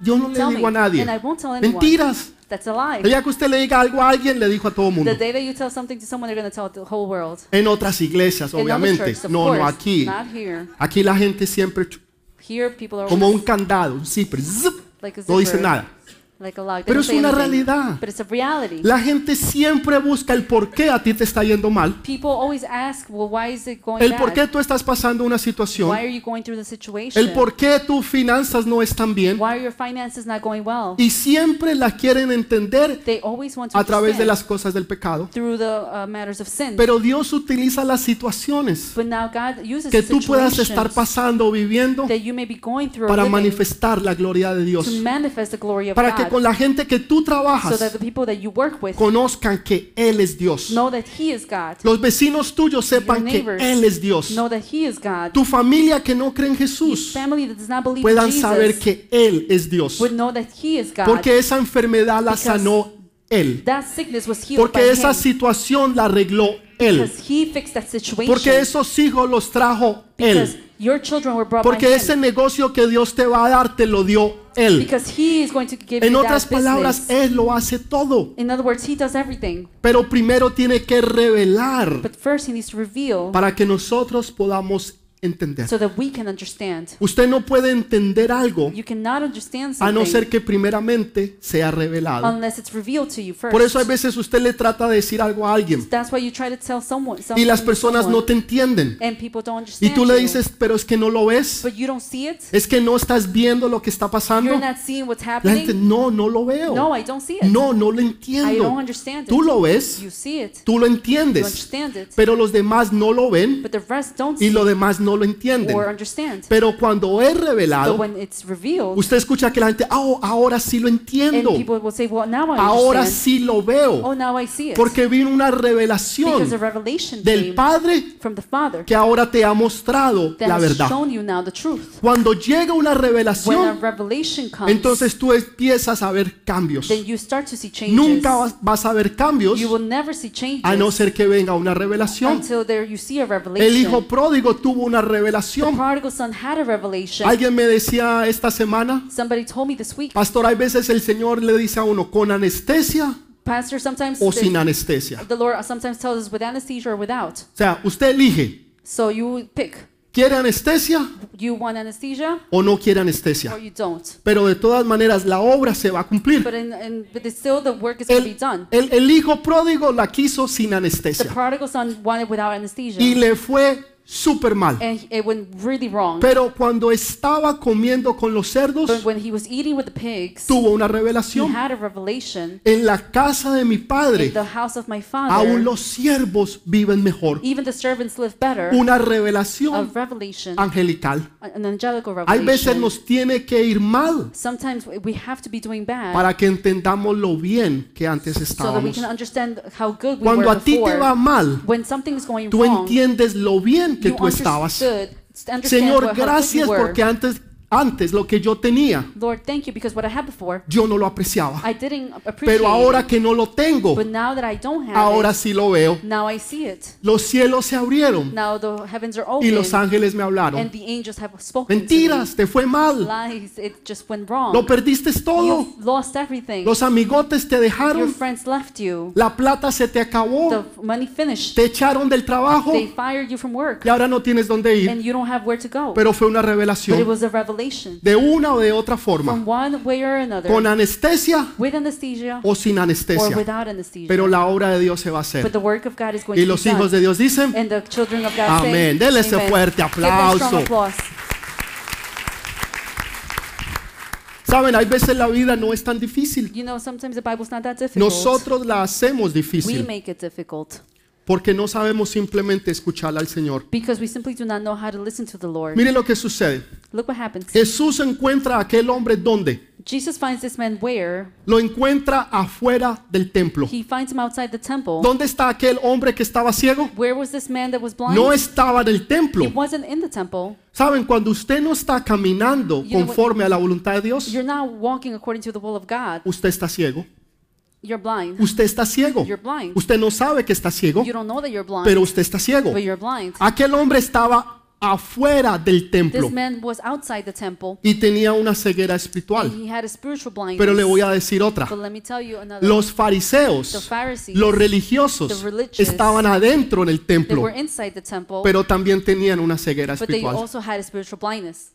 Speaker 1: yo no le
Speaker 2: Tell
Speaker 1: digo a
Speaker 2: me,
Speaker 1: nadie.
Speaker 2: and I won't tell anyone.
Speaker 1: Mentiras.
Speaker 2: That's a lie.
Speaker 1: El día que usted le diga algo a alguien, le dijo a todo el mundo.
Speaker 2: The day that you tell something to someone, they're going to tell the whole world.
Speaker 1: En otras iglesias,
Speaker 2: In other
Speaker 1: obviamente.
Speaker 2: churches, of
Speaker 1: No,
Speaker 2: course,
Speaker 1: no aquí.
Speaker 2: not here.
Speaker 1: Aquí la gente siempre
Speaker 2: Here, people are
Speaker 1: como un
Speaker 2: always
Speaker 1: candado, un zipper, zip,
Speaker 2: like a
Speaker 1: no dice
Speaker 2: zipper,
Speaker 1: nada.
Speaker 2: like a lock. They
Speaker 1: Pero
Speaker 2: don't
Speaker 1: es
Speaker 2: say
Speaker 1: una
Speaker 2: anything.
Speaker 1: realidad.
Speaker 2: But it's a reality.
Speaker 1: La gente siempre busca el por qué a ti te está yendo mal,
Speaker 2: People always ask, well, why is it going
Speaker 1: el
Speaker 2: bad?
Speaker 1: por qué tú estás pasando una situación,
Speaker 2: Why are you going through the situation?
Speaker 1: el por qué tus finanzas no están bien,
Speaker 2: Why are your finances not going well?
Speaker 1: y siempre la quieren entender
Speaker 2: They always want to
Speaker 1: a través de
Speaker 2: understand
Speaker 1: las cosas del pecado.
Speaker 2: through the matters of sin.
Speaker 1: Pero Dios utiliza las situaciones
Speaker 2: But now God uses
Speaker 1: que tú puedas
Speaker 2: situations
Speaker 1: estar pasando o viviendo
Speaker 2: that you may be going through or
Speaker 1: para
Speaker 2: living
Speaker 1: manifestar la gloria de Dios,
Speaker 2: to manifest the glory of
Speaker 1: para que
Speaker 2: God,
Speaker 1: con la gente que tú
Speaker 2: so
Speaker 1: trabajas
Speaker 2: that the people that you work with
Speaker 1: conozcan que Él es Dios.
Speaker 2: know that He is God,
Speaker 1: Los vecinos tuyos sepan
Speaker 2: Your
Speaker 1: que
Speaker 2: neighbors
Speaker 1: Él es Dios.
Speaker 2: know that He is God.
Speaker 1: Tu familia que no cree en
Speaker 2: Your
Speaker 1: Jesús
Speaker 2: family that does not believe in
Speaker 1: puedan saber
Speaker 2: Jesus
Speaker 1: que Él es Dios.
Speaker 2: would know that He is God.
Speaker 1: Porque esa enfermedad la
Speaker 2: Because
Speaker 1: sanó Él.
Speaker 2: that sickness was healed by
Speaker 1: Porque esa
Speaker 2: Him.
Speaker 1: situación la arregló Él.
Speaker 2: Because He fixed that situation.
Speaker 1: Porque esos hijos los trajo
Speaker 2: Because
Speaker 1: Él.
Speaker 2: your children were brought
Speaker 1: Porque
Speaker 2: by
Speaker 1: ese
Speaker 2: Him.
Speaker 1: negocio que Dios te va a dar te lo dio Él.
Speaker 2: Because He is going to give
Speaker 1: En
Speaker 2: you
Speaker 1: otras
Speaker 2: that
Speaker 1: palabras,
Speaker 2: business.
Speaker 1: Él lo hace todo.
Speaker 2: In other words, He does everything.
Speaker 1: Pero primero tiene que revelar
Speaker 2: But first He needs to reveal
Speaker 1: para que nosotros podamos entender.
Speaker 2: so that we can understand.
Speaker 1: Usted no puede entender algo
Speaker 2: You cannot understand
Speaker 1: a no
Speaker 2: something
Speaker 1: ser que primeramente sea revelado.
Speaker 2: unless it's revealed to you first.
Speaker 1: Por eso a veces usted le trata de decir algo a alguien
Speaker 2: That's why you try to tell someone
Speaker 1: y
Speaker 2: something
Speaker 1: las
Speaker 2: to
Speaker 1: personas no
Speaker 2: someone,
Speaker 1: te entienden.
Speaker 2: and people don't
Speaker 1: Y
Speaker 2: understand
Speaker 1: tú le
Speaker 2: you.
Speaker 1: dices, pero es que no lo ves.
Speaker 2: But you don't see it.
Speaker 1: Es que no estás viendo lo que está pasando.
Speaker 2: You're not seeing what's
Speaker 1: La gente,
Speaker 2: happening.
Speaker 1: no, no lo veo.
Speaker 2: No, I don't see it.
Speaker 1: No, no lo
Speaker 2: I
Speaker 1: entiendo.
Speaker 2: don't understand it.
Speaker 1: Tú lo ves,
Speaker 2: You see it.
Speaker 1: tú lo
Speaker 2: You
Speaker 1: entiendes,
Speaker 2: understand it.
Speaker 1: pero los demás no lo ven
Speaker 2: But the rest don't
Speaker 1: y
Speaker 2: see
Speaker 1: los demás no lo entienden.
Speaker 2: or understand.
Speaker 1: Pero cuando es
Speaker 2: But
Speaker 1: revelado,
Speaker 2: when it's revealed,
Speaker 1: usted escucha que la gente, oh, ahora sí lo
Speaker 2: and
Speaker 1: entiendo.
Speaker 2: people will say, well, now I
Speaker 1: Ahora
Speaker 2: understand.
Speaker 1: sí lo veo.
Speaker 2: Oh, now I see it.
Speaker 1: Porque vino una
Speaker 2: Because a
Speaker 1: revelación
Speaker 2: revelation
Speaker 1: del
Speaker 2: came
Speaker 1: Padre
Speaker 2: from the Father
Speaker 1: que ahora te ha mostrado
Speaker 2: that
Speaker 1: la
Speaker 2: has
Speaker 1: verdad.
Speaker 2: shown you now the truth.
Speaker 1: Cuando llega una
Speaker 2: When a
Speaker 1: revelación,
Speaker 2: revelation comes,
Speaker 1: entonces tú empiezas a ver cambios.
Speaker 2: then you start to see changes.
Speaker 1: Nunca vas a ver cambios
Speaker 2: You will never see changes
Speaker 1: a no ser que venga una revelación.
Speaker 2: until there you see a
Speaker 1: El
Speaker 2: revelation.
Speaker 1: hijo pródigo tuvo una
Speaker 2: The
Speaker 1: revelación.
Speaker 2: prodigal son had a revelation.
Speaker 1: Alguien me decía esta semana,
Speaker 2: Somebody told me this week,
Speaker 1: pastor, hay veces el Señor le dice a uno con anestesia
Speaker 2: Pastor, sometimes
Speaker 1: o sin anestesia.
Speaker 2: the Lord sometimes tells us with anesthesia or without.
Speaker 1: O sea, usted elige,
Speaker 2: So you pick.
Speaker 1: ¿quiere anestesia
Speaker 2: You want anesthesia
Speaker 1: o no quiere
Speaker 2: or
Speaker 1: anestesia?
Speaker 2: you don't.
Speaker 1: Pero de todas maneras la obra se va a cumplir.
Speaker 2: But still the work is going to be done.
Speaker 1: El hijo pródigo la quiso sin
Speaker 2: The
Speaker 1: anestesia
Speaker 2: prodigal son wanted without anesthesia.
Speaker 1: y le fue súper mal.
Speaker 2: And it went really wrong.
Speaker 1: Pero cuando estaba comiendo con los cerdos,
Speaker 2: But when he was eating with the pigs,
Speaker 1: tuvo una
Speaker 2: he
Speaker 1: revelación.
Speaker 2: had a revelation.
Speaker 1: En la casa de mi
Speaker 2: In
Speaker 1: padre,
Speaker 2: the house of my
Speaker 1: aún
Speaker 2: father,
Speaker 1: los siervos viven mejor.
Speaker 2: even the servants live better.
Speaker 1: Una
Speaker 2: A
Speaker 1: revelación
Speaker 2: revelation,
Speaker 1: angelical.
Speaker 2: an angelical
Speaker 1: Hay veces
Speaker 2: revelation.
Speaker 1: nos tiene que ir mal
Speaker 2: Sometimes we have to be doing bad
Speaker 1: para que entendamos lo bien que antes
Speaker 2: so that we
Speaker 1: estábamos.
Speaker 2: can understand how good we
Speaker 1: Cuando
Speaker 2: were
Speaker 1: a ti te va
Speaker 2: before.
Speaker 1: mal,
Speaker 2: When something is going
Speaker 1: tú
Speaker 2: wrong,
Speaker 1: entiendes lo bien que
Speaker 2: you
Speaker 1: tú estabas.
Speaker 2: understand
Speaker 1: Señor,
Speaker 2: how good you
Speaker 1: gracias
Speaker 2: were.
Speaker 1: porque antes lo que yo tenía,
Speaker 2: Lord, thank you, because what I had before,
Speaker 1: yo no lo apreciaba.
Speaker 2: I didn't appreciate
Speaker 1: Pero ahora
Speaker 2: it.
Speaker 1: que no lo tengo,
Speaker 2: But now that I don't have
Speaker 1: ahora
Speaker 2: it,
Speaker 1: sí lo veo.
Speaker 2: now I see it.
Speaker 1: Los cielos se abrieron
Speaker 2: Now the heavens are
Speaker 1: y
Speaker 2: open,
Speaker 1: los ángeles me hablaron.
Speaker 2: and the angels have spoken
Speaker 1: Mentiras, te fue
Speaker 2: to me.
Speaker 1: mal.
Speaker 2: Lies, it just went wrong.
Speaker 1: Lo perdiste todo.
Speaker 2: You've lost everything.
Speaker 1: Los amigotes te
Speaker 2: Your
Speaker 1: dejaron.
Speaker 2: friends left you.
Speaker 1: La plata se te acabó.
Speaker 2: The money finished.
Speaker 1: Te echaron del trabajo
Speaker 2: They fired you from work,
Speaker 1: y ahora no tienes dónde ir.
Speaker 2: and you don't have where to go.
Speaker 1: Pero fue una
Speaker 2: But it
Speaker 1: revelación
Speaker 2: was a revelation.
Speaker 1: de una o de otra forma,
Speaker 2: From one way or another,
Speaker 1: con anestesia
Speaker 2: with anesthesia
Speaker 1: o sin
Speaker 2: or
Speaker 1: anestesia.
Speaker 2: without anesthesia.
Speaker 1: Pero la obra de Dios se va a
Speaker 2: But
Speaker 1: hacer.
Speaker 2: the work of God is going
Speaker 1: Y
Speaker 2: to
Speaker 1: los
Speaker 2: be
Speaker 1: hijos
Speaker 2: done.
Speaker 1: de Dios dicen,
Speaker 2: And the children of God
Speaker 1: amén.
Speaker 2: say,
Speaker 1: Dele ese
Speaker 2: amen.
Speaker 1: fuerte
Speaker 2: Give them strong
Speaker 1: aplauso.
Speaker 2: applause.
Speaker 1: Saben, hay veces la vida no es tan difícil.
Speaker 2: You know, sometimes the Bible's not that difficult.
Speaker 1: Nosotros la hacemos
Speaker 2: We
Speaker 1: difícil
Speaker 2: make it difficult
Speaker 1: porque no sabemos simplemente escuchar al Señor.
Speaker 2: because we simply do not know how to listen to the Lord.
Speaker 1: Mire lo que sucede.
Speaker 2: Look what happens.
Speaker 1: Jesús encuentra a aquel hombre donde
Speaker 2: Jesus finds this man where?
Speaker 1: lo encuentra afuera del templo.
Speaker 2: He finds him outside the temple.
Speaker 1: ¿Dónde está aquel hombre que estaba ciego?
Speaker 2: Where was this man that was blind?
Speaker 1: No estaba en el
Speaker 2: He
Speaker 1: templo.
Speaker 2: wasn't in the temple.
Speaker 1: Saben, cuando usted no está caminando
Speaker 2: You know what-
Speaker 1: conforme a la voluntad de Dios,
Speaker 2: You're not walking according to the will of God.
Speaker 1: usted está ciego.
Speaker 2: You're blind.
Speaker 1: Usted está ciego.
Speaker 2: You're blind.
Speaker 1: Usted no sabe que está ciego,
Speaker 2: You don't know that you're blind,
Speaker 1: pero usted está ciego.
Speaker 2: but you're blind.
Speaker 1: Aquel hombre estaba afuera del templo
Speaker 2: This man was outside the temple
Speaker 1: y tenía una ceguera
Speaker 2: and
Speaker 1: espiritual.
Speaker 2: he had a spiritual blindness.
Speaker 1: Pero le voy a decir otra.
Speaker 2: But let me tell you another.
Speaker 1: Los
Speaker 2: The
Speaker 1: fariseos,
Speaker 2: Pharisees,
Speaker 1: los religiosos,
Speaker 2: the religious,
Speaker 1: estaban adentro en el
Speaker 2: they
Speaker 1: templo,
Speaker 2: were inside the temple,
Speaker 1: pero también tenían una ceguera
Speaker 2: but they
Speaker 1: espiritual.
Speaker 2: also had a spiritual blindness.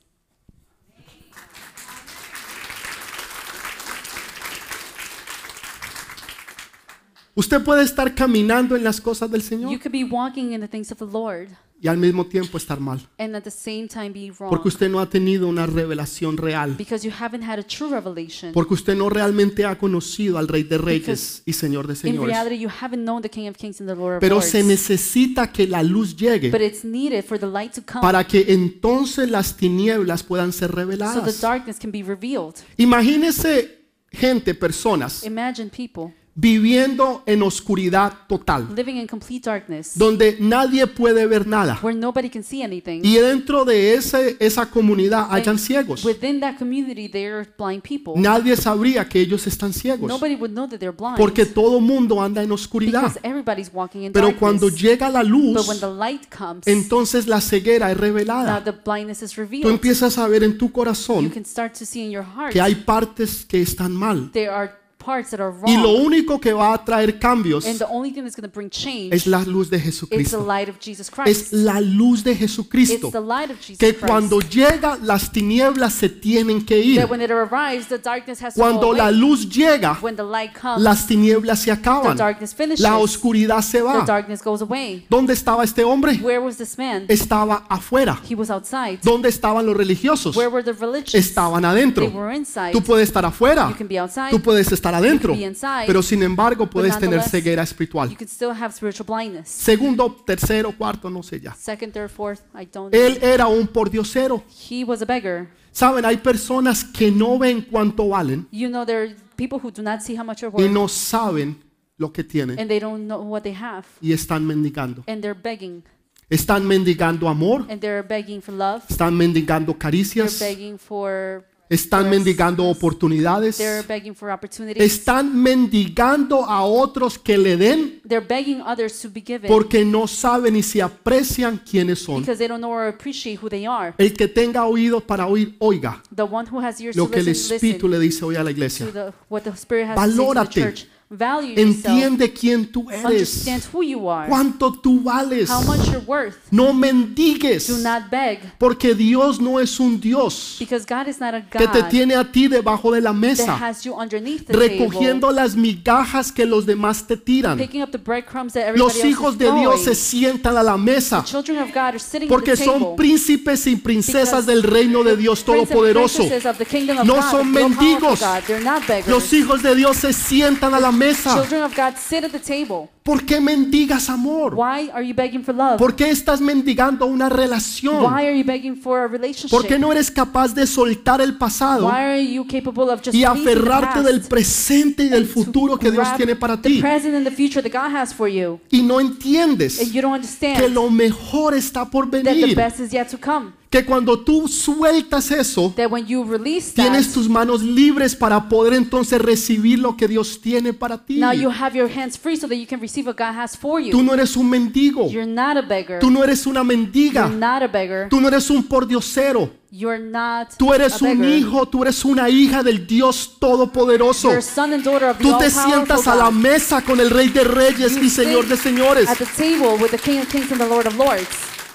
Speaker 1: Usted puede estar caminando en las cosas del
Speaker 2: You
Speaker 1: Señor
Speaker 2: could be walking in the things of the Lord
Speaker 1: y al mismo tiempo estar mal,
Speaker 2: and at the same time be wrong
Speaker 1: porque usted no ha tenido una revelación real,
Speaker 2: because you haven't had a true revelation.
Speaker 1: porque usted no realmente ha conocido al Rey de Reyes y Señor de
Speaker 2: In
Speaker 1: Señores.
Speaker 2: reality, you haven't known the King of Kings and the Lord of
Speaker 1: Pero
Speaker 2: Lords.
Speaker 1: se necesita que la luz llegue
Speaker 2: But it's needed for the light to come
Speaker 1: para que entonces las tinieblas puedan ser
Speaker 2: so the
Speaker 1: reveladas.
Speaker 2: darkness can be revealed.
Speaker 1: Imagínese gente, personas
Speaker 2: Imagine people
Speaker 1: viviendo en oscuridad total,
Speaker 2: living in complete darkness
Speaker 1: donde nadie puede ver nada.
Speaker 2: where nobody can see anything.
Speaker 1: Y dentro de esa comunidad hayan ciegos.
Speaker 2: Within that community, there are blind people.
Speaker 1: Nadie sabría que ellos están ciegos,
Speaker 2: Nobody would know that they're blind
Speaker 1: porque todo mundo anda en oscuridad.
Speaker 2: because everybody's walking in
Speaker 1: Pero
Speaker 2: darkness.
Speaker 1: cuando llega la
Speaker 2: But
Speaker 1: luz,
Speaker 2: when the light comes,
Speaker 1: entonces la ceguera es
Speaker 2: now
Speaker 1: revelada.
Speaker 2: the blindness is
Speaker 1: Tú
Speaker 2: revealed.
Speaker 1: empiezas a ver en tu
Speaker 2: You
Speaker 1: corazón
Speaker 2: can start to see in your heart
Speaker 1: que hay partes que están mal.
Speaker 2: there are parts that are
Speaker 1: Y lo
Speaker 2: wrong.
Speaker 1: único que va a traer cambios
Speaker 2: And the only thing that's going to bring change
Speaker 1: es la luz de
Speaker 2: is the
Speaker 1: Jesucristo.
Speaker 2: light of Jesus
Speaker 1: Es
Speaker 2: Christ.
Speaker 1: la luz de
Speaker 2: It's
Speaker 1: Jesucristo.
Speaker 2: the light of Jesus
Speaker 1: Que
Speaker 2: Christ.
Speaker 1: cuando llega las tinieblas se tienen que ir.
Speaker 2: That when it arrives, the darkness has to go
Speaker 1: Cuando la
Speaker 2: away.
Speaker 1: luz llega,
Speaker 2: When the light comes,
Speaker 1: las tinieblas se
Speaker 2: the
Speaker 1: acaban.
Speaker 2: darkness finishes.
Speaker 1: La oscuridad se
Speaker 2: The
Speaker 1: va.
Speaker 2: darkness goes away.
Speaker 1: ¿Dónde estaba este hombre?
Speaker 2: Where was this man?
Speaker 1: Estaba afuera.
Speaker 2: He was outside.
Speaker 1: ¿Dónde estaban los religiosos?
Speaker 2: Where were the religious?
Speaker 1: Estaban
Speaker 2: They
Speaker 1: adentro.
Speaker 2: were inside.
Speaker 1: Tú puedes estar afuera.
Speaker 2: You can be outside.
Speaker 1: Tú puedes estar adentro.
Speaker 2: be inside.
Speaker 1: Pero sin embargo puedes tener
Speaker 2: nonetheless,
Speaker 1: ceguera
Speaker 2: You
Speaker 1: espiritual.
Speaker 2: can still have spiritual blindness.
Speaker 1: Segundo, tercero, cuarto, no sé ya.
Speaker 2: Second, third, fourth, I don't
Speaker 1: Él
Speaker 2: know.
Speaker 1: era un pordiosero.
Speaker 2: He was a beggar.
Speaker 1: Saben, hay personas que no ven cuánto valen
Speaker 2: You know, there are people who do not see how much you're
Speaker 1: y
Speaker 2: worth
Speaker 1: no saben lo que tienen
Speaker 2: and they don't know what they have.
Speaker 1: y están mendigando.
Speaker 2: And they're begging.
Speaker 1: Están mendigando amor,
Speaker 2: And they're begging for love.
Speaker 1: están mendigando
Speaker 2: They're
Speaker 1: caricias,
Speaker 2: begging for
Speaker 1: están mendigando oportunidades,
Speaker 2: They're begging for opportunities.
Speaker 1: están mendigando a otros que le den
Speaker 2: They're begging others to be given
Speaker 1: porque no saben ni se aprecian quiénes son.
Speaker 2: because they don't know or appreciate who they are.
Speaker 1: El que tenga oídos para oír, oiga
Speaker 2: The one who has ears
Speaker 1: lo
Speaker 2: to
Speaker 1: que el
Speaker 2: listen,
Speaker 1: Espíritu
Speaker 2: listen
Speaker 1: le dice hoy a la
Speaker 2: to
Speaker 1: iglesia.
Speaker 2: what the Spirit has to say to
Speaker 1: Valórate.
Speaker 2: the church. Value yourself.
Speaker 1: Entiende quién tú eres,
Speaker 2: Understand who you are.
Speaker 1: cuánto tú vales.
Speaker 2: How much you're worth.
Speaker 1: No mendigues,
Speaker 2: Do not beg
Speaker 1: porque Dios no es un Dios
Speaker 2: because God is not a
Speaker 1: que te
Speaker 2: God
Speaker 1: tiene a ti debajo de la
Speaker 2: that
Speaker 1: mesa,
Speaker 2: has you underneath the
Speaker 1: recogiendo
Speaker 2: table,
Speaker 1: las migajas que los demás te tiran.
Speaker 2: picking up the breadcrumbs that everybody
Speaker 1: Los
Speaker 2: else
Speaker 1: hijos
Speaker 2: is
Speaker 1: de Dios
Speaker 2: throwing.
Speaker 1: se sientan a la mesa
Speaker 2: Children of God are sitting
Speaker 1: porque
Speaker 2: at the table
Speaker 1: son príncipes y princesas
Speaker 2: because
Speaker 1: del reino de Dios
Speaker 2: princes and
Speaker 1: Todopoderoso.
Speaker 2: princesses of the kingdom of
Speaker 1: No
Speaker 2: God,
Speaker 1: son
Speaker 2: the all-powerful
Speaker 1: mendigos.
Speaker 2: God. They're not beggars.
Speaker 1: Los hijos de Dios se sientan a la mesa.
Speaker 2: Children of God sit at the table.
Speaker 1: ¿Por qué mendigas amor?
Speaker 2: Why are you begging for love?
Speaker 1: ¿Por qué estás mendigando una relación?
Speaker 2: Why are you begging for a relationship?
Speaker 1: ¿Por qué no eres capaz de soltar el pasado
Speaker 2: Why are you capable of just
Speaker 1: y
Speaker 2: releasing the
Speaker 1: aferrarte
Speaker 2: past
Speaker 1: del presente y del
Speaker 2: to
Speaker 1: futuro que Dios
Speaker 2: grab
Speaker 1: tiene para
Speaker 2: the
Speaker 1: ti?
Speaker 2: present and the future that God has for you?
Speaker 1: Y no entiendes
Speaker 2: And you don't
Speaker 1: que
Speaker 2: understand
Speaker 1: lo mejor está por
Speaker 2: that the
Speaker 1: venir.
Speaker 2: best is yet to come.
Speaker 1: Que cuando tú sueltas eso,
Speaker 2: That when you release
Speaker 1: tienes
Speaker 2: that,
Speaker 1: tus manos libres para poder entonces recibir lo que Dios tiene para ti.
Speaker 2: now you have your hands free so that you can receive what God has for
Speaker 1: Tú
Speaker 2: you.
Speaker 1: no eres un mendigo.
Speaker 2: You're not a beggar.
Speaker 1: Tú no eres una
Speaker 2: You're
Speaker 1: mendiga.
Speaker 2: not a beggar.
Speaker 1: Tú no eres un pordiosero.
Speaker 2: You're not
Speaker 1: Tú eres
Speaker 2: a
Speaker 1: un
Speaker 2: beggar.
Speaker 1: hijo, tú eres una hija del Dios Todopoderoso.
Speaker 2: You're a son and daughter of the
Speaker 1: Tú te
Speaker 2: all-powerful
Speaker 1: sientas a la
Speaker 2: God.
Speaker 1: mesa con el Rey de Reyes
Speaker 2: You
Speaker 1: y Señor
Speaker 2: sit
Speaker 1: de Señores.
Speaker 2: at the table with the King of Kings and the Lord of Lords.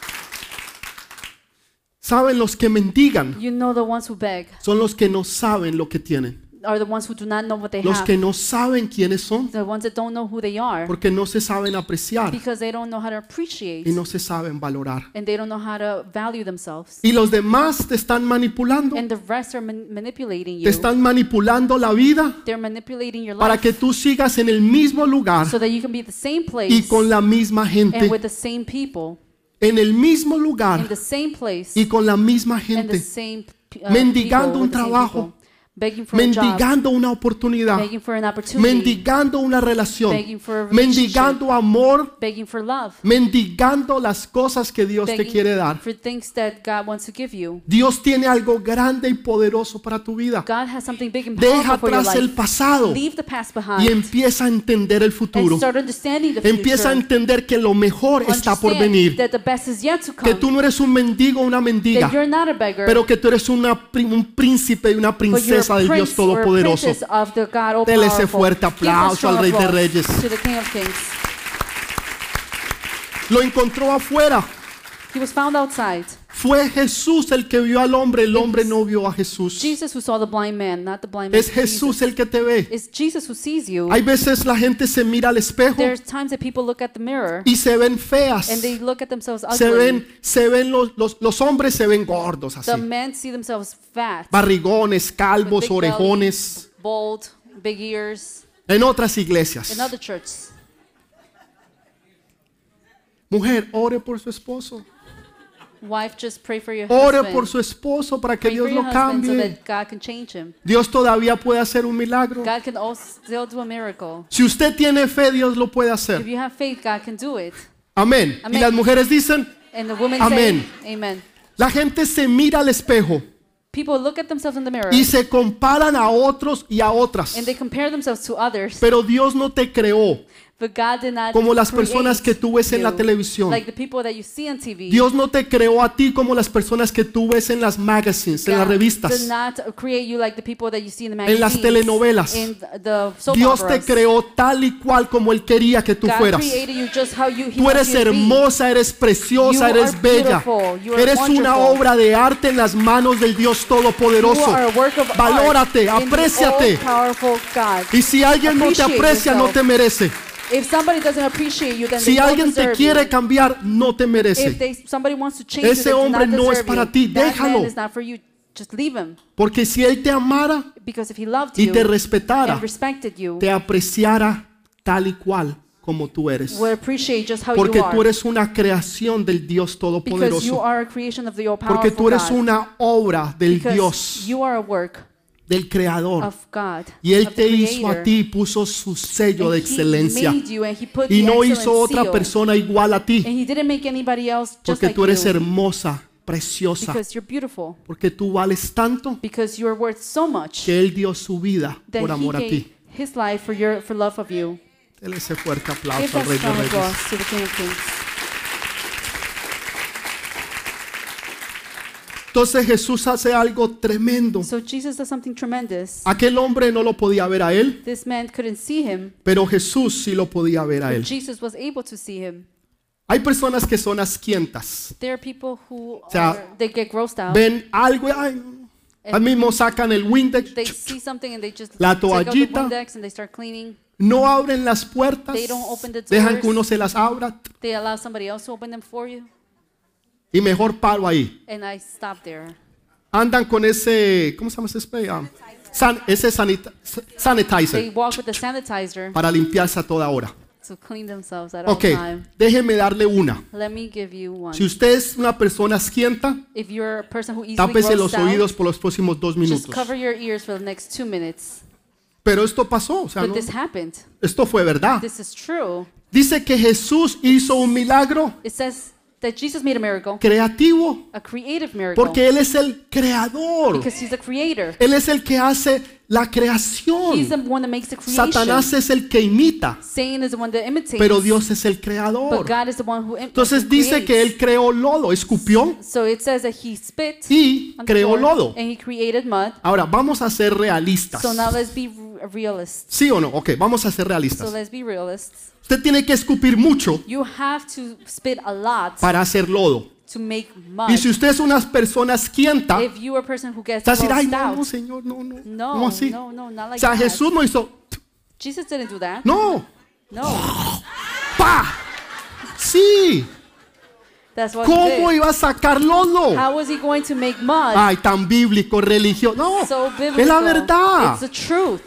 Speaker 1: Saben, los que mendigan
Speaker 2: You know the ones who beg
Speaker 1: son los que no saben lo que tienen.
Speaker 2: are the ones who do not know what they
Speaker 1: Los
Speaker 2: have.
Speaker 1: que no saben quiénes son
Speaker 2: The ones that don't know who they are
Speaker 1: porque no se saben apreciar
Speaker 2: because they don't know how to appreciate
Speaker 1: y no se saben valorar.
Speaker 2: and they don't know how to value themselves.
Speaker 1: Y los demás te están manipulando.
Speaker 2: And the rest are manipulating
Speaker 1: Te
Speaker 2: you.
Speaker 1: están manipulando la vida
Speaker 2: They're manipulating your
Speaker 1: para
Speaker 2: life
Speaker 1: que tú sigas en el mismo lugar
Speaker 2: so that you can be at the same
Speaker 1: y
Speaker 2: place
Speaker 1: con la misma
Speaker 2: and
Speaker 1: gente.
Speaker 2: with the same people
Speaker 1: En el mismo
Speaker 2: in
Speaker 1: lugar
Speaker 2: the same place
Speaker 1: y con la misma
Speaker 2: and the
Speaker 1: gente.
Speaker 2: same
Speaker 1: Mendigando
Speaker 2: people,
Speaker 1: un
Speaker 2: with the same
Speaker 1: trabajo.
Speaker 2: people. begging for a job,
Speaker 1: mendigando una oportunidad,
Speaker 2: begging for an opportunity,
Speaker 1: mendigando una relación,
Speaker 2: begging for a relationship,
Speaker 1: mendigando amor,
Speaker 2: begging for love,
Speaker 1: mendigando las cosas que Dios te
Speaker 2: begging
Speaker 1: quiere dar.
Speaker 2: for things that God wants to give you.
Speaker 1: Dios tiene algo grande y poderoso para tu vida.
Speaker 2: God has something big and
Speaker 1: Deja
Speaker 2: powerful for your
Speaker 1: atrás el
Speaker 2: life.
Speaker 1: pasado
Speaker 2: Leave the past
Speaker 1: y
Speaker 2: behind
Speaker 1: empieza a entender el
Speaker 2: and
Speaker 1: futuro.
Speaker 2: start understanding the
Speaker 1: Empieza a
Speaker 2: future.
Speaker 1: entender que lo mejor está por
Speaker 2: Understand
Speaker 1: venir.
Speaker 2: that the best is yet to
Speaker 1: Que
Speaker 2: come.
Speaker 1: tú no eres un mendigo o una mendiga,
Speaker 2: That you're not a beggar,
Speaker 1: pero que tú eres un príncipe y una
Speaker 2: but you're
Speaker 1: princesa
Speaker 2: a
Speaker 1: del Dios
Speaker 2: prince or a
Speaker 1: Todopoderoso.
Speaker 2: princess of the God
Speaker 1: Dele ese
Speaker 2: all-powerful.
Speaker 1: fuerte
Speaker 2: Give a
Speaker 1: aplauso
Speaker 2: strong
Speaker 1: al Rey de
Speaker 2: applause
Speaker 1: Reyes.
Speaker 2: to the King of Kings.
Speaker 1: Lo encontró afuera.
Speaker 2: He was found outside.
Speaker 1: Fue Jesús el que vio al hombre, el hombre no vio a Jesús.
Speaker 2: Jesus who saw the blind man, not the blind man.
Speaker 1: Es Jesús el que te ve.
Speaker 2: It's Jesus who sees you.
Speaker 1: Hay veces la gente se mira al espejo
Speaker 2: There's times that people look at the mirror
Speaker 1: y se ven feas.
Speaker 2: and they look at themselves
Speaker 1: Se
Speaker 2: ugly.
Speaker 1: ven los hombres se ven gordos
Speaker 2: The
Speaker 1: así.
Speaker 2: men see themselves fat,
Speaker 1: Barrigones,
Speaker 2: with
Speaker 1: calvos,
Speaker 2: big belly,
Speaker 1: orejones.
Speaker 2: bald, big ears.
Speaker 1: En otras iglesias.
Speaker 2: In other churches,
Speaker 1: Mujer, ore por su esposo.
Speaker 2: wife, just pray for your
Speaker 1: Ore
Speaker 2: husband.
Speaker 1: por su esposo para que
Speaker 2: Pray for
Speaker 1: Dios
Speaker 2: your
Speaker 1: lo
Speaker 2: husband so
Speaker 1: cambie.
Speaker 2: that God can change him.
Speaker 1: Dios todavía puede hacer un milagro.
Speaker 2: God can also still do a miracle.
Speaker 1: Si usted tiene fe, Dios lo puede
Speaker 2: If
Speaker 1: hacer.
Speaker 2: you have faith, God can do it.
Speaker 1: Amén. Y
Speaker 2: Amén.
Speaker 1: las mujeres dicen,
Speaker 2: And the women
Speaker 1: Amén.
Speaker 2: say, Amen.
Speaker 1: la gente se mira al espejo
Speaker 2: People look at themselves in the mirror
Speaker 1: y se comparan a otros y a otras.
Speaker 2: and they compare themselves to others.
Speaker 1: Pero Dios no te creó
Speaker 2: But God did not
Speaker 1: como las
Speaker 2: create
Speaker 1: personas que tú ves en la
Speaker 2: you
Speaker 1: televisión.
Speaker 2: like the people that you see on TV.
Speaker 1: Dios no te creó a ti como las personas que tú ves en las magazines, en las
Speaker 2: God did
Speaker 1: revistas.
Speaker 2: not create you like the people that you see in the
Speaker 1: En las
Speaker 2: magazines,
Speaker 1: telenovelas.
Speaker 2: in the soap
Speaker 1: Dios te
Speaker 2: operas.
Speaker 1: creó tal y cual como Él quería que tú
Speaker 2: God
Speaker 1: fueras.
Speaker 2: created you just how he
Speaker 1: Tú
Speaker 2: wants
Speaker 1: eres
Speaker 2: you to be.
Speaker 1: hermosa, eres preciosa,
Speaker 2: You
Speaker 1: eres
Speaker 2: are
Speaker 1: bella.
Speaker 2: beautiful, you are
Speaker 1: Eres una
Speaker 2: wonderful.
Speaker 1: obra de arte en las manos del Dios
Speaker 2: You
Speaker 1: Todopoderoso.
Speaker 2: are a work of
Speaker 1: Valórate,
Speaker 2: art in the
Speaker 1: apréciate.
Speaker 2: all-powerful God.
Speaker 1: Y si alguien no te
Speaker 2: Appreciate
Speaker 1: aprecia, no
Speaker 2: yourself.
Speaker 1: te merece.
Speaker 2: If somebody doesn't appreciate you, then
Speaker 1: Si
Speaker 2: they don't
Speaker 1: alguien te
Speaker 2: deserve
Speaker 1: quiere
Speaker 2: you.
Speaker 1: cambiar, no te
Speaker 2: If
Speaker 1: merece.
Speaker 2: somebody wants to change
Speaker 1: Ese
Speaker 2: you, they do
Speaker 1: hombre
Speaker 2: not
Speaker 1: no es
Speaker 2: deserve
Speaker 1: para
Speaker 2: you.
Speaker 1: ti,
Speaker 2: That
Speaker 1: déjalo.
Speaker 2: man is not for you. Just leave him.
Speaker 1: Porque si Él te amara
Speaker 2: Because if he loved
Speaker 1: y
Speaker 2: you
Speaker 1: te respetara,
Speaker 2: and respected you,
Speaker 1: te apreciara tal y cual como tú eres.
Speaker 2: would appreciate just how
Speaker 1: Porque
Speaker 2: you
Speaker 1: tú
Speaker 2: are.
Speaker 1: eres una creación del Dios
Speaker 2: Because you
Speaker 1: Todopoderoso.
Speaker 2: are a creation of the
Speaker 1: Porque
Speaker 2: all-powerful
Speaker 1: tú eres
Speaker 2: God.
Speaker 1: una obra del
Speaker 2: Because
Speaker 1: Dios,
Speaker 2: you are a work
Speaker 1: del Creador.
Speaker 2: of God.
Speaker 1: Y Él
Speaker 2: of the
Speaker 1: te hizo a
Speaker 2: Creator.
Speaker 1: ti y puso su sello
Speaker 2: And
Speaker 1: de
Speaker 2: he
Speaker 1: excelencia.
Speaker 2: made you and he put
Speaker 1: Y
Speaker 2: the
Speaker 1: no hizo
Speaker 2: excellent
Speaker 1: otra
Speaker 2: seal.
Speaker 1: persona igual a ti.
Speaker 2: And he didn't make anybody else just
Speaker 1: Porque
Speaker 2: like
Speaker 1: tú eres
Speaker 2: you.
Speaker 1: hermosa, preciosa.
Speaker 2: Because you're beautiful.
Speaker 1: Porque tú vales tanto
Speaker 2: Because you're worth so much
Speaker 1: que Él dio su vida
Speaker 2: that
Speaker 1: por
Speaker 2: he
Speaker 1: amor a
Speaker 2: gave
Speaker 1: ti.
Speaker 2: his life for love of you.
Speaker 1: Dele ese fuerte
Speaker 2: Give
Speaker 1: aplauso al
Speaker 2: that
Speaker 1: Rey de
Speaker 2: strong
Speaker 1: Reyes.
Speaker 2: applause to the King of Kings.
Speaker 1: Entonces Jesús hace algo tremendo.
Speaker 2: So Jesus does something tremendous.
Speaker 1: Aquel hombre no lo podía ver a él,
Speaker 2: This man couldn't see him,
Speaker 1: pero Jesús sí lo podía ver a
Speaker 2: but
Speaker 1: él.
Speaker 2: Jesus was able to see him.
Speaker 1: Hay personas que son asquientas.
Speaker 2: There are people who
Speaker 1: sea,
Speaker 2: they get grossed out.
Speaker 1: Ven algo y ay, al mismo sacan el Windex,
Speaker 2: They see something and they just
Speaker 1: La
Speaker 2: take out the
Speaker 1: toallita.
Speaker 2: Windex and they start cleaning.
Speaker 1: no abren las puertas,
Speaker 2: They don't open the
Speaker 1: dejan
Speaker 2: doors.
Speaker 1: que uno se las abra
Speaker 2: They allow somebody else to open them for you.
Speaker 1: y mejor paro ahí.
Speaker 2: And I stop there.
Speaker 1: Andan con ese, ¿cómo se llama ese spray? Ese sanitizer
Speaker 2: They walk with the sanitizer
Speaker 1: para limpiarse a toda hora.
Speaker 2: to clean themselves at
Speaker 1: Ok,
Speaker 2: all time.
Speaker 1: déjeme darle una.
Speaker 2: Let me give you one.
Speaker 1: Si usted es una persona asquienta,
Speaker 2: If you're a person who easily
Speaker 1: tápese los
Speaker 2: grossed
Speaker 1: oídos
Speaker 2: out,
Speaker 1: por los próximos 2
Speaker 2: just
Speaker 1: minutos.
Speaker 2: cover your ears for the next 2 minutes.
Speaker 1: Pero esto pasó, o sea,
Speaker 2: But
Speaker 1: no-
Speaker 2: this happened.
Speaker 1: esto fue verdad.
Speaker 2: This is true.
Speaker 1: Dice que Jesús hizo un milagro
Speaker 2: It says that Jesus made a miracle,
Speaker 1: creativo
Speaker 2: a creative miracle,
Speaker 1: porque Él es el creador.
Speaker 2: because he's the creator.
Speaker 1: Él es el que hace la
Speaker 2: He's
Speaker 1: creación.
Speaker 2: the one that makes the creation.
Speaker 1: Satanás es el que imita,
Speaker 2: Satan is the one that imitates.
Speaker 1: pero Dios es el
Speaker 2: But
Speaker 1: creador.
Speaker 2: God is the one who
Speaker 1: Entonces
Speaker 2: who
Speaker 1: dice que
Speaker 2: creates.
Speaker 1: Él creó lodo, escupió
Speaker 2: So it says that he spit
Speaker 1: y
Speaker 2: on the
Speaker 1: creó
Speaker 2: floor,
Speaker 1: lodo.
Speaker 2: and he created mud.
Speaker 1: Ahora, vamos a ser realistas.
Speaker 2: So now let's be realists.
Speaker 1: ¿Sí o no? Ok, vamos a ser
Speaker 2: So
Speaker 1: realistas.
Speaker 2: let's be realists.
Speaker 1: Usted tiene que escupir mucho
Speaker 2: You have to spit a lot
Speaker 1: para hacer lodo.
Speaker 2: to make mud.
Speaker 1: Y si usted es una persona asquienta,
Speaker 2: If you are a person who gets
Speaker 1: va a decir, ay,
Speaker 2: grossed
Speaker 1: no, no,
Speaker 2: out,
Speaker 1: Señor, no, no,
Speaker 2: no,
Speaker 1: no así.
Speaker 2: no, not
Speaker 1: O
Speaker 2: like
Speaker 1: sea,
Speaker 2: that.
Speaker 1: Jesús no hizo,
Speaker 2: Jesus didn't do that.
Speaker 1: no,
Speaker 2: No,
Speaker 1: pa, sí.
Speaker 2: that's what he
Speaker 1: ¿Cómo
Speaker 2: did.
Speaker 1: iba a sacar lodo?
Speaker 2: How was he going to make mud?
Speaker 1: Ay, tan bíblico, religioso. No,
Speaker 2: So biblical.
Speaker 1: es la verdad.
Speaker 2: It's the truth.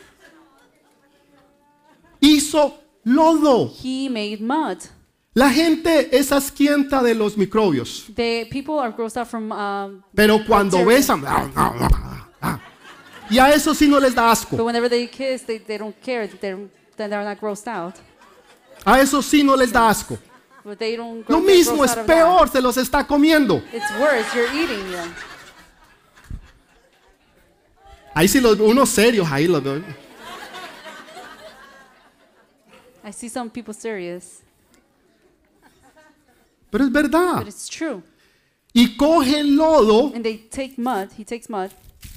Speaker 1: Hizo lodo.
Speaker 2: He made mud.
Speaker 1: La gente es asquienta de los microbios,
Speaker 2: The people are grossed out from
Speaker 1: pero cuando
Speaker 2: Bacteria.
Speaker 1: besan, Y a eso sí no les da asco.
Speaker 2: But whenever they kiss, they don't care. Then they're not grossed out.
Speaker 1: A eso sí no les da asco.
Speaker 2: But they don't
Speaker 1: Lo
Speaker 2: get
Speaker 1: mismo,
Speaker 2: grossed
Speaker 1: es
Speaker 2: out of that.
Speaker 1: peor, se los está comiendo.
Speaker 2: It's worse. You're eating them.
Speaker 1: Ahí sí unos serios, ahí los veo.
Speaker 2: I see some people serious,
Speaker 1: Pero es verdad.
Speaker 2: but it's true.
Speaker 1: Y coge el lodo
Speaker 2: And they take mud. He takes mud.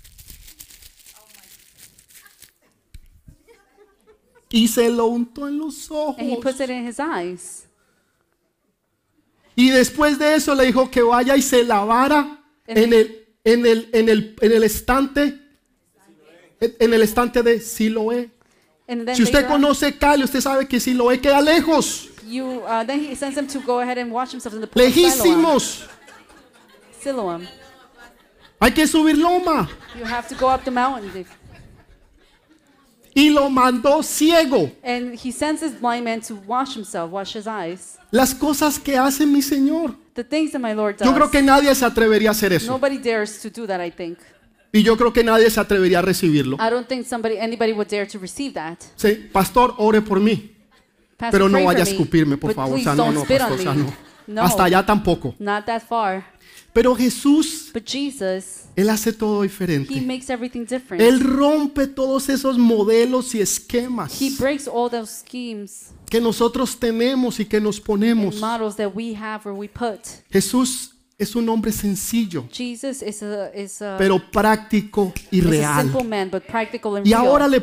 Speaker 1: y se lo untó en los
Speaker 2: And he puts
Speaker 1: ojos.
Speaker 2: it in his eyes.
Speaker 1: Y después de eso le dijo que vaya y se lavara en el estante, en el estante de Siloé.
Speaker 2: And then
Speaker 1: Si usted
Speaker 2: later on,
Speaker 1: conoce Cali, usted sabe que Siloé queda lejos,
Speaker 2: then he sends him to go ahead and wash himself in the pool of Siloam.
Speaker 1: lejísimos.
Speaker 2: Siloam.
Speaker 1: Hay que subir loma.
Speaker 2: You have to go up the mountain.
Speaker 1: Y lo mandó ciego.
Speaker 2: And he sends his blind man to wash himself, wash his eyes.
Speaker 1: Las cosas que hace mi Señor.
Speaker 2: The things that my Lord does.
Speaker 1: Yo creo que nadie se atrevería a hacer eso.
Speaker 2: Nobody dares to do that, I think.
Speaker 1: Y yo creo que nadie se atrevería a recibirlo.
Speaker 2: I don't think anybody would dare to receive that.
Speaker 1: Sí, pastor, ore por mí.
Speaker 2: Pastor,
Speaker 1: Pero no
Speaker 2: pray
Speaker 1: vaya a
Speaker 2: for me,
Speaker 1: escupirme, por
Speaker 2: but
Speaker 1: favor. O
Speaker 2: please
Speaker 1: sea, no,
Speaker 2: don't
Speaker 1: no,
Speaker 2: spit
Speaker 1: pastor,
Speaker 2: on
Speaker 1: o sea,
Speaker 2: me.
Speaker 1: no.
Speaker 2: No,
Speaker 1: Hasta allá tampoco.
Speaker 2: not that far.
Speaker 1: Pero Jesús,
Speaker 2: But Jesus,
Speaker 1: Él hace todo
Speaker 2: he
Speaker 1: diferente.
Speaker 2: makes everything different.
Speaker 1: Él rompe todos esos modelos y esquemas
Speaker 2: He breaks all those schemes
Speaker 1: que nosotros tenemos y que nos ponemos.
Speaker 2: and models that we have or we put.
Speaker 1: Jesús es un hombre sencillo,
Speaker 2: Jesus is a
Speaker 1: pero práctico y
Speaker 2: is a
Speaker 1: real.
Speaker 2: simple man, but practical and
Speaker 1: Y
Speaker 2: real.
Speaker 1: ahora le